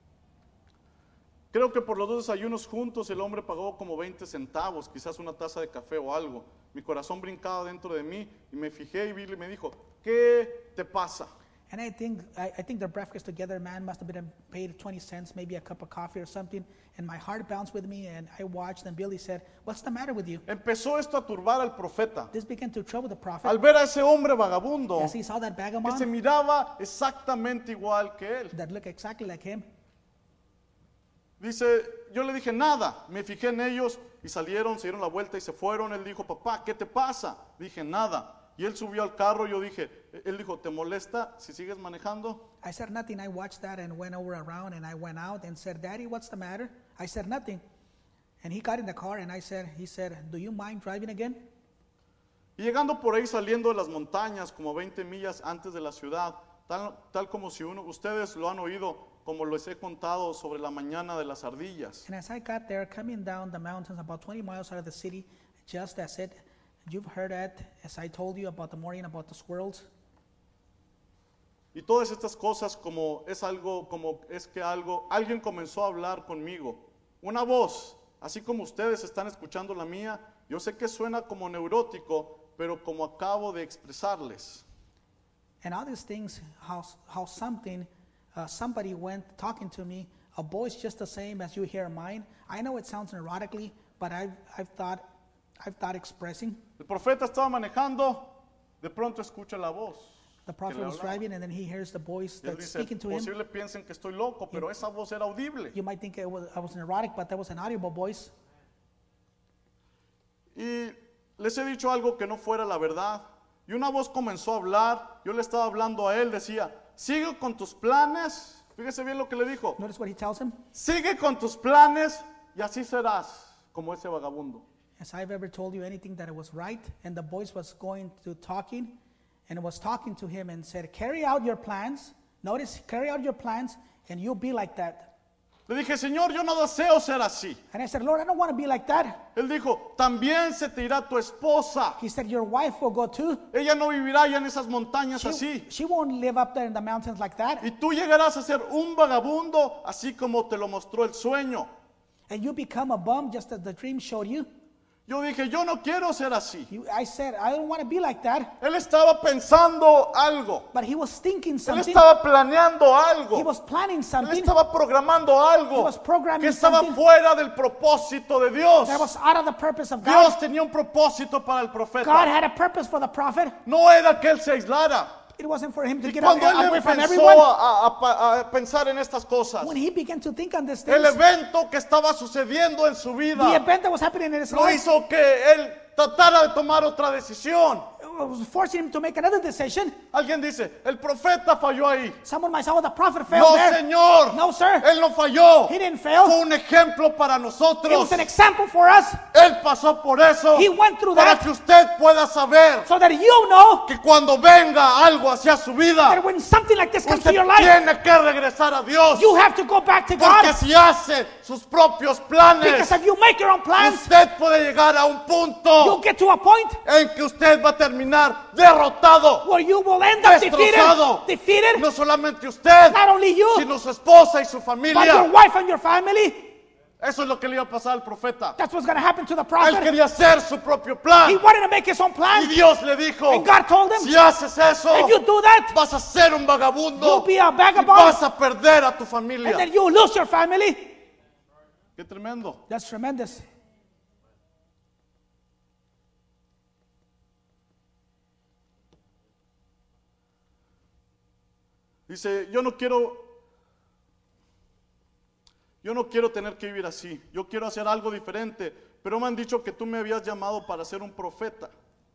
Creo que por los dos desayunos juntos el hombre pagó como veinte centavos, quizás una taza de café o algo. Mi corazón brincaba dentro de mí y me fijé y Billy me dijo, ¿qué te pasa? And I think I, I think their breakfast together, man, must have been paid twenty cents, maybe a cup of coffee or something. And my heart bounced with me, and I watched. And Billy said, "What's the matter with you?" Empezó esto a turbar al profeta. This began to trouble the Al prophet ver a ese hombre vagabundo as he saw that que se vagabond miraba exactamente igual que él. that looked exactly like him. Dice, yo le dije nada, me fijé en ellos y salieron, se dieron la vuelta y se fueron. Él dijo, papá, ¿qué te pasa? Dije, nada. Y él subió al carro, yo dije, él dijo, ¿te molesta si sigues manejando? I said nothing. I watched that and went over around, and I went out and said, "Daddy, what's the matter?" I said nothing, and he got in the car, and I said, "He said, do you mind driving again?" Y llegando por ahí saliendo de las montañas, como veinte millas antes de la ciudad, tal, tal como si uno, ustedes lo han oído, como les he contado sobre la mañana de las ardillas. And as I got there, coming down the mountains about twenty miles out of the city, just as it, you've heard that, as I told you about the morning about the squirrels. Y todas estas cosas como es algo, como es que algo, alguien comenzó a hablar conmigo. Una voz, así como ustedes están escuchando la mía, yo sé que suena como neurótico, pero como acabo de expresarles. And all these things, how, how something, uh, somebody went talking to me, a voice just the same as you hear mine. I know it sounds neurotically, but I've, I've thought, I've thought expressing. El profeta estaba manejando, de pronto escucha la voz. The prophet que le was hablaba. driving, and then he hears the voice Y él that's dice, speaking to him. posible piensen que estoy loco, pero esa voz era audible. You might think it was, I was neurotic, but that was an audible voice. Y les he dicho algo que no fuera la verdad. Y una voz comenzó a hablar, yo le estaba hablando a él, decía, sigue con tus planes. Fíjese bien lo que le dijo. Notice what he tells him. Sigue con tus planes y así serás como ese vagabundo. As I've ever told you anything that it was right, and the voice was going to talking, and it was talking to him and said, carry out your plans. Notice, carry out your plans, and you'll be like that. Le dije, Señor, yo no deseo ser así. And I said, Lord, I don't want to be like that. Él dijo, también se te irá tu esposa. He said, your wife will go too. Ella no vivirá ya en esas montañas She, así. she won't live up there in the mountains like that. Y tú llegarás a ser un vagabundo, así como te lo mostró el sueño. And you become a bum just as the dream showed you. Yo dije, yo no quiero ser así. You, I said, I don't want to be like that. Él estaba pensando algo. But he was thinking Él something. estaba planeando He algo. was planning Él something estaba programando He algo was programming que estaba something fuera del propósito de Dios. that was out of the purpose of God. Dios tenía un propósito para el God profeta. had a purpose for the prophet. No era que él se aislara. It wasn't for him to Y get out, cuando él away from empezó everyone. a, a- a pensar en estas cosas, When he began to think on these el things, evento que estaba sucediendo en su the vida event that was happening in his lo life hizo que él tratara de tomar otra decisión. was forcing him to make another decision. Alguien dice, el profeta falló ahí. Someone might say, oh, the prophet failed No, there. señor. No, sir. Él no falló. He didn't fail. Fue un ejemplo para It nosotros. was an example for us Él pasó por eso He went through para that. que usted pueda saber so that you know que cuando venga algo hacia su that vida, when something like this comes usted to your life, tiene que regresar a Dios. you have to go back to Porque God. si hace sus propios planes, Because if you make your own plans, usted puede llegar a un punto you'll get to a point en que usted va a terminar derrotado. where you will end up defeated, Destrozado. defeated, No solamente usted, not only you, sino su esposa y su but your familia. wife and your family. Eso es lo que le iba a pasar al profeta. That's what's going to happen to the Él prophet. quería hacer su propio He plan. wanted to make his own Y plan, Dios le dijo, and God told him, si haces eso, if you do that, vas a ser un you'll vagabundo be a y vagabond, vas a perder a tu and familia. then you'll lose your family. Qué tremendo. That's tremendous. Dice, yo no quiero, yo no quiero tener que vivir así. Yo quiero hacer algo diferente. Pero me han dicho que tú me habías llamado para ser un profeta.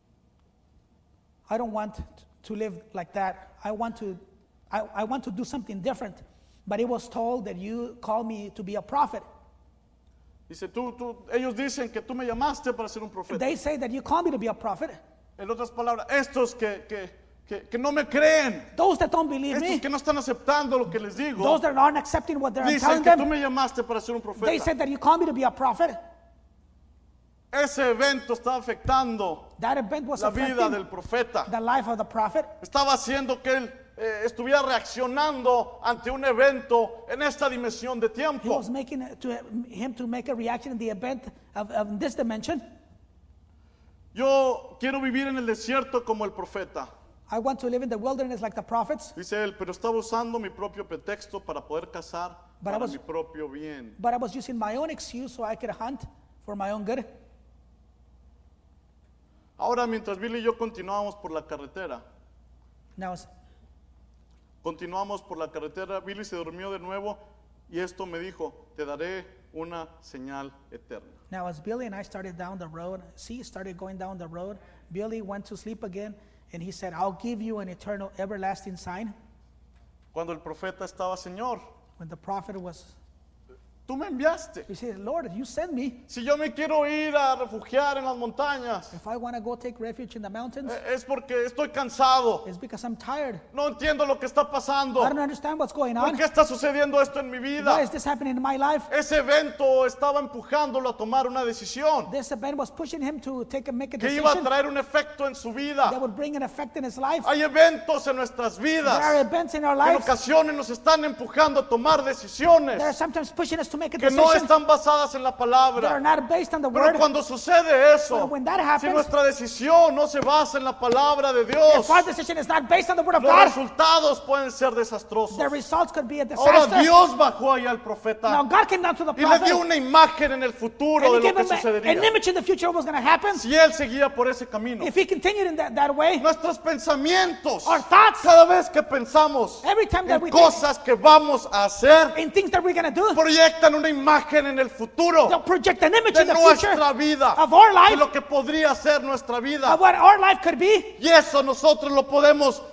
I don't want to live like that. I want to, I, I want to do something different. But it was told that you called me to be a prophet. Dice, tú, tú, ellos dicen que tú me llamaste para ser un profeta. They say that you called me to be a prophet. En otras palabras, estos que, que, que, que no me creen, Those that don't believe estos me, que no están aceptando lo que les digo, those that aren't accepting what they're dicen telling que tú them, me llamaste para ser un they profeta. said that you called me to be a prophet. Ese evento está afectando That event was la vida affecting del profeta. the life of the prophet. Estaba haciendo que él eh, estuviera reaccionando ante un evento en esta dimensión de He tiempo. was making it to him to make a reaction in the event of, of this dimension. Yo quiero vivir en el desierto como el profeta. I want to live in the wilderness like the prophets, Dice él, pero estaba usando mi propio pretexto para poder cazar But I para was- mi propio bien. but I was using my own excuse so I could hunt for my own good. Ahora, mientras Billy y yo continuamos por la carretera, Now, continuamos por la carretera, Billy se durmió de nuevo y esto me dijo, te daré una señal eterna. now as Billy and I started down the road, C started going down the road, Billy went to sleep again, and he said, I'll give you an eternal, everlasting sign. Cuando el profeta estaba, Señor, When the prophet was, tú me enviaste. he said, Lord, you sent me. Si yo me quiero ir a refugiar en las montañas, If I want to go take refuge in the mountains, eh, es porque estoy cansado. it's because I'm tired. No entiendo lo que está pasando. I don't understand what's going ¿Por on. qué está sucediendo esto en mi Why vida? is this happening in my life? Ese evento estaba empujándolo a tomar una decisión This event was pushing him to take a, make a que iba a decision traer un efecto en su that vida. would bring an effect in his life. Hay eventos en nuestras There are vidas events in our que en lives ocasiones nos están empujando a tomar that are decisiones sometimes pushing us to make a que no decision están basadas en la that are palabra. not based on the Pero word. cuando sucede eso, But when that si happens, nuestra decisión no se basa en la palabra de If Dios, our decision is not based on the word of los God, resultados pueden ser desastrosos. the results could be a Ahora disaster. Dios bajó ahí al Now profeta God came down to the y le prophet dio una imagen en el futuro and de he lo gave que him a- an sucedería image in the future of what's going to happen. si él seguía por ese camino. If he continued in that, that way, Nuestros pensamientos, our thoughts, cada vez que pensamos every time that en we think cosas que vamos a hacer, in things that we're going to do, proyectan una imagen en el futuro they'll project an image de in the future nuestra vida, of our de life, lo que podría ser nuestra vida. of what our life could be. Y eso nosotros lo podemos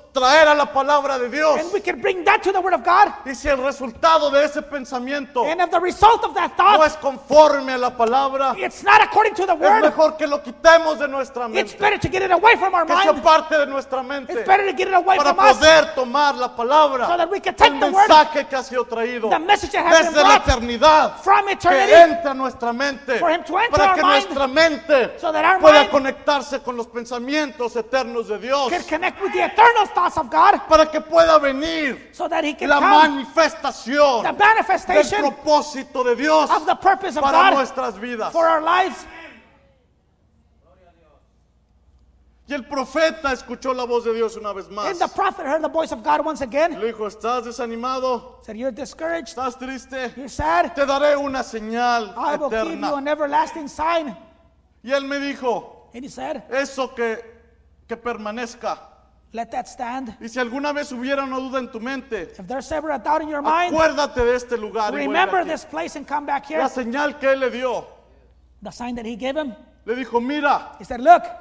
traer a la palabra de Dios. And we can bring that to the Word of God. Y si el resultado de ese pensamiento And if the result of that no thought, es conforme a la palabra, it's not according to the es Word, mejor que lo quitemos de nuestra it's mente, better to get it away from our que sea mind. parte de nuestra mente, It's better to get it away para from us poder tomar la palabra, so that we can take el the Word, mensaje que ha sido traído the message that has been desde la brought eternidad, from que eternity, entre a nuestra mente, for him to enter para our que mind, nuestra mente so that our pueda mind conectarse con los pensamientos eternos de Dios, can connect with the eternal thoughts of God, para que pueda venir so that He can la come, manifestación the del manifestation propósito de Dios of the purpose of para God nuestras vidas. for our lives. Y el profeta escuchó la voz de Dios una vez más. And the prophet heard the voice of God once again. Le dijo, ¿estás desanimado? Said, you're discouraged, ¿Estás triste? you're sad, Te daré una señal I will give you eterna. an everlasting sign. Y él me dijo, And he said, eso que, que permanezca. let that stand. Y si alguna vez hubiera una duda en tu mente, If there's ever a doubt in your mind, acuérdate de este lugar. y vuelve remember aquí. this place and come back here. La señal que él le dio, The sign that he gave him, le dijo, mira. he said, look.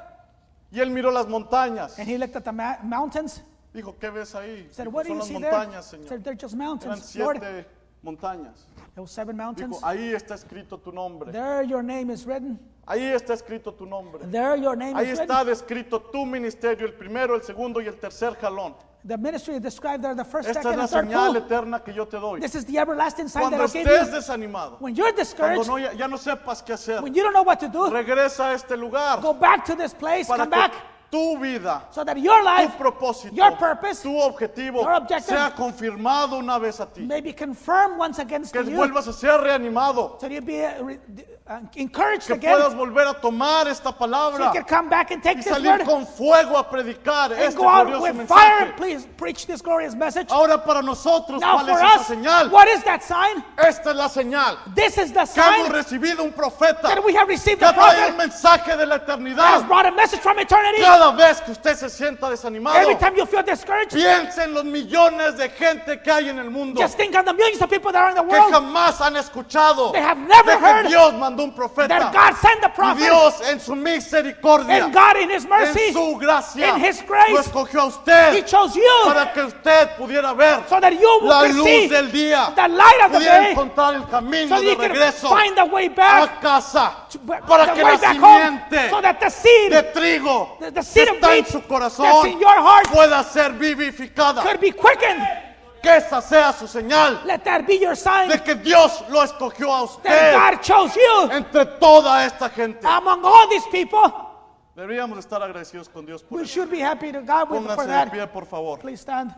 Y él miró las montañas. And he looked at the ma- mountains. Dijo, ¿qué ves ahí? He said, what do Son you las see there? montañas, He Señor. said, they're just Eran mountains, Lord. siete montañas. There were seven mountains. Dijo, ahí está escrito tu nombre. There your name is written. Ahí está escrito tu nombre. There your name Ahí is está written. descrito tu ministerio, el primero, el segundo y el tercer jalón. The ministry is described there, the first, Esta es second, la and third señal pull. eterna que yo te doy. This is the everlasting sign that Cuando I gave estés you. desanimado, When you're cuando discouraged, no, ya, ya no sepas qué hacer, when you don't know what to do, regresa a este lugar go back to this place, para come back, que tu vida, so that your tu life propósito, your purpose, tu objetivo your objective sea confirmado una vez a ti. may be confirmed once against Que you, vuelvas a ser reanimado. so you be uh, re- uh, encouraged Que again, puedas volver a tomar esta so palabra you can come back and take y this salir word con fuego a predicar and este go out glorioso with fire and mensaje. please preach this glorious message. Ahora para nosotros, Now ¿cuál for es esa us, señal? what is that sign? Esta es la señal. This is the Que hemos sign recibido un profeta that we have received que the trae el prophet mensaje de la that has eternidad. brought a message from eternity. Cada vez que usted se sienta desanimado, Every time you feel discouraged, piense en los millones de gente que hay en el mundo just think on the millions of people that are in the que world jamás han escuchado They have never de que heard Dios mandó un profeta. that God sent the Y prophet, Dios en su misericordia, and God in His mercy, en su gracia, in His grace, lo escogió a He usted chose you para que usted pudiera ver so that you la will see luz del día, the light of the pudiera day, encontrar el so camino that de you can regreso find the way back, a casa, to- para the que way la back home, simiente so that the seed de trigo the- the que seed of está en wheat su that's corazón in your heart pueda ser vivificada. could be quickened. Que esa sea su señal Let that be your sign de que Dios lo escogió a that usted God chose you entre toda esta gente. among all these people. Deberíamos estar agradecidos con Dios por We eso. should be happy to God with, for Pónganse de that. pie, por favor. Please stand.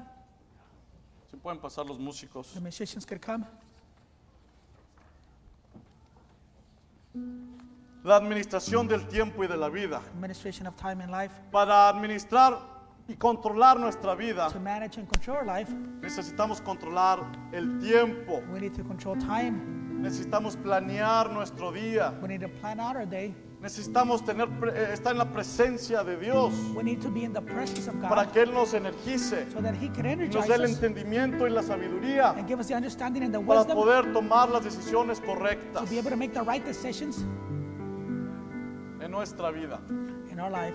Si pueden pasar los músicos. The musicians could come. La administración del tiempo y de la vida. Administration of time and life. Para administrar y controlar nuestra vida, To manage and control our life, necesitamos controlar el tiempo. we need to control time. Necesitamos planear nuestro día. We need to plan out our day. Necesitamos tener, pre- eh, estar en la presencia de Dios We need to be in the presence of para God que Él nos energice so that He can y nos energize dé el us entendimiento y la sabiduría and give us the understanding and the para wisdom poder tomar las decisiones correctas to be able to make the right decisions en nuestra vida. in our life.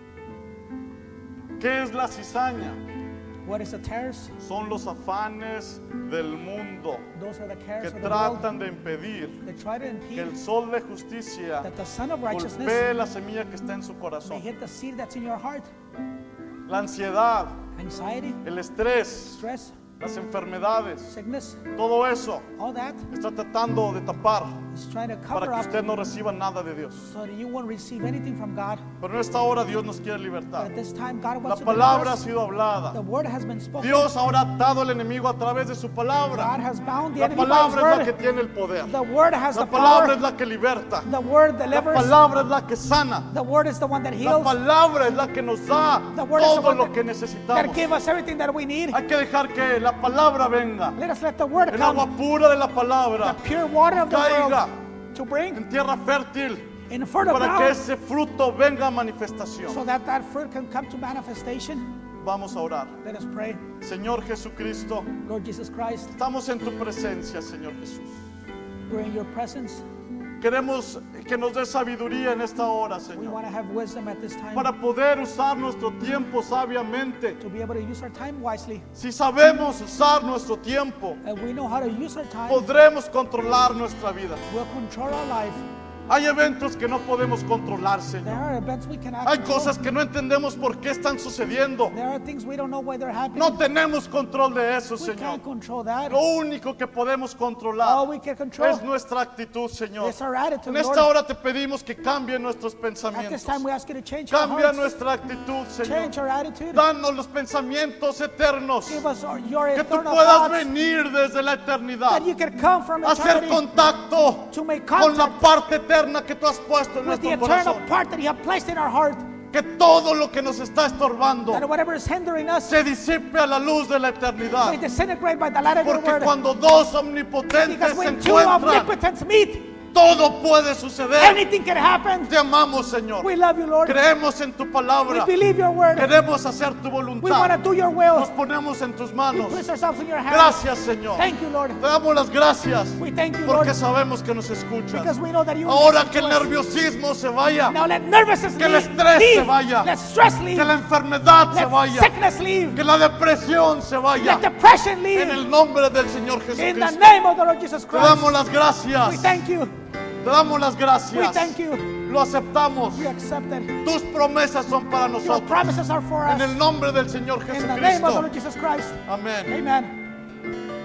¿Qué es la cizaña? What is the tares? Son los afanes del mundo Those are the cares que of the world. tratan de impedir They try to que impede el sol de justicia that the Son of Righteousness golpee la semilla que está en su may corazón. hit the seed that's in your heart. La ansiedad, Anxiety, el estrés, stress, las enfermedades, sickness, todo eso all that está tratando de tapar is trying to para cover que up usted no reciba nada de Dios. so that you won't receive anything from God. Pero en esta hora Dios nos quiere But libertar. at this time, God La wants to palabra ha deliver us. sido hablada. The word has been spoken. Dios ahora ha atado al enemigo a través de su God palabra. has bound the La enemy by His palabra es la que word. tiene el poder. The word has La the palabra es power. la que liberta. The word La delivers. palabra es la que sana. The word is the one that La heals. palabra es la que nos da The word is the todo one lo that, que that necesitamos. gives us everything that we need. Hay que dejar que la palabra venga. Let us let the word El agua come. pura de la The palabra pure water of the caiga world to bring en tierra fértil in fertile para que ground ese fruto venga a so manifestación. that that fruit can come to manifestation. Vamos a orar. Let us pray. Señor Jesucristo, Lord Jesus Christ, estamos en tu presencia, Señor Jesús. we're in your presence. Queremos que nos dé sabiduría en esta hora, We Señor, want to have wisdom at this time para poder usar nuestro tiempo sabiamente. to be able to use our time wisely. Si sabemos usar nuestro tiempo, And we know how to use our time, podremos controlar nuestra vida. we'll control our life. Hay eventos que no podemos controlar, There Señor. are events we cannot Hay control. cosas que no entendemos por qué están sucediendo. There are things we don't know why they're happening. No tenemos control de eso, We Señor. can't control that. Lo único que podemos All controlar we can control es nuestra actitud, Señor. is our attitude, En esta Lord. hora te pedimos que cambie nuestros At pensamientos. this time we ask you to change our Cambia hearts, nuestra actitud, Señor. change our attitude, Danos los pensamientos eternos. give us our- your Que tú eternal puedas thoughts, venir desde la eternidad. that you can come from Hacer eternity contacto to make con la contact parte eterna que tú has puesto en with the nuestro eternal corazón. part that you have placed in our heart, Que todo lo que nos está estorbando that whatever is hindering us se disipe a la luz de la may eternidad. disintegrate by the light of your Porque word. cuando dos omnipotentes Because se when two encuentran, omnipotents meet, todo puede suceder. anything can happen. Te amamos, Señor. We love you, Lord. Creemos en tu We palabra. believe your word. Queremos hacer tu We want to voluntad. do your will. Nos ponemos en tus We manos. place ourselves in your hands. Gracias, Señor. Thank you, Lord. Te damos las gracias We thank you, Lord, porque sabemos que nos escuchas. because we know that you Ahora listen que el to us. nerviosismo se vaya, Now let nervousness que el leave. estrés se leave. vaya. Let stress leave. que la enfermedad se Let vaya, sickness leave. que la depresión se vaya. Let depression En leave. el nombre del Señor In the Jesucristo. name of the Lord Jesus Te Christ. damos las gracias. We thank you. Te damos las We gracias. thank you. Lo aceptamos. We accept it. Tus promesas son para Your nosotros. promises are for En us. el nombre del Señor In the name of the Jesucristo. Lord Jesus Christ. Amén. Amen.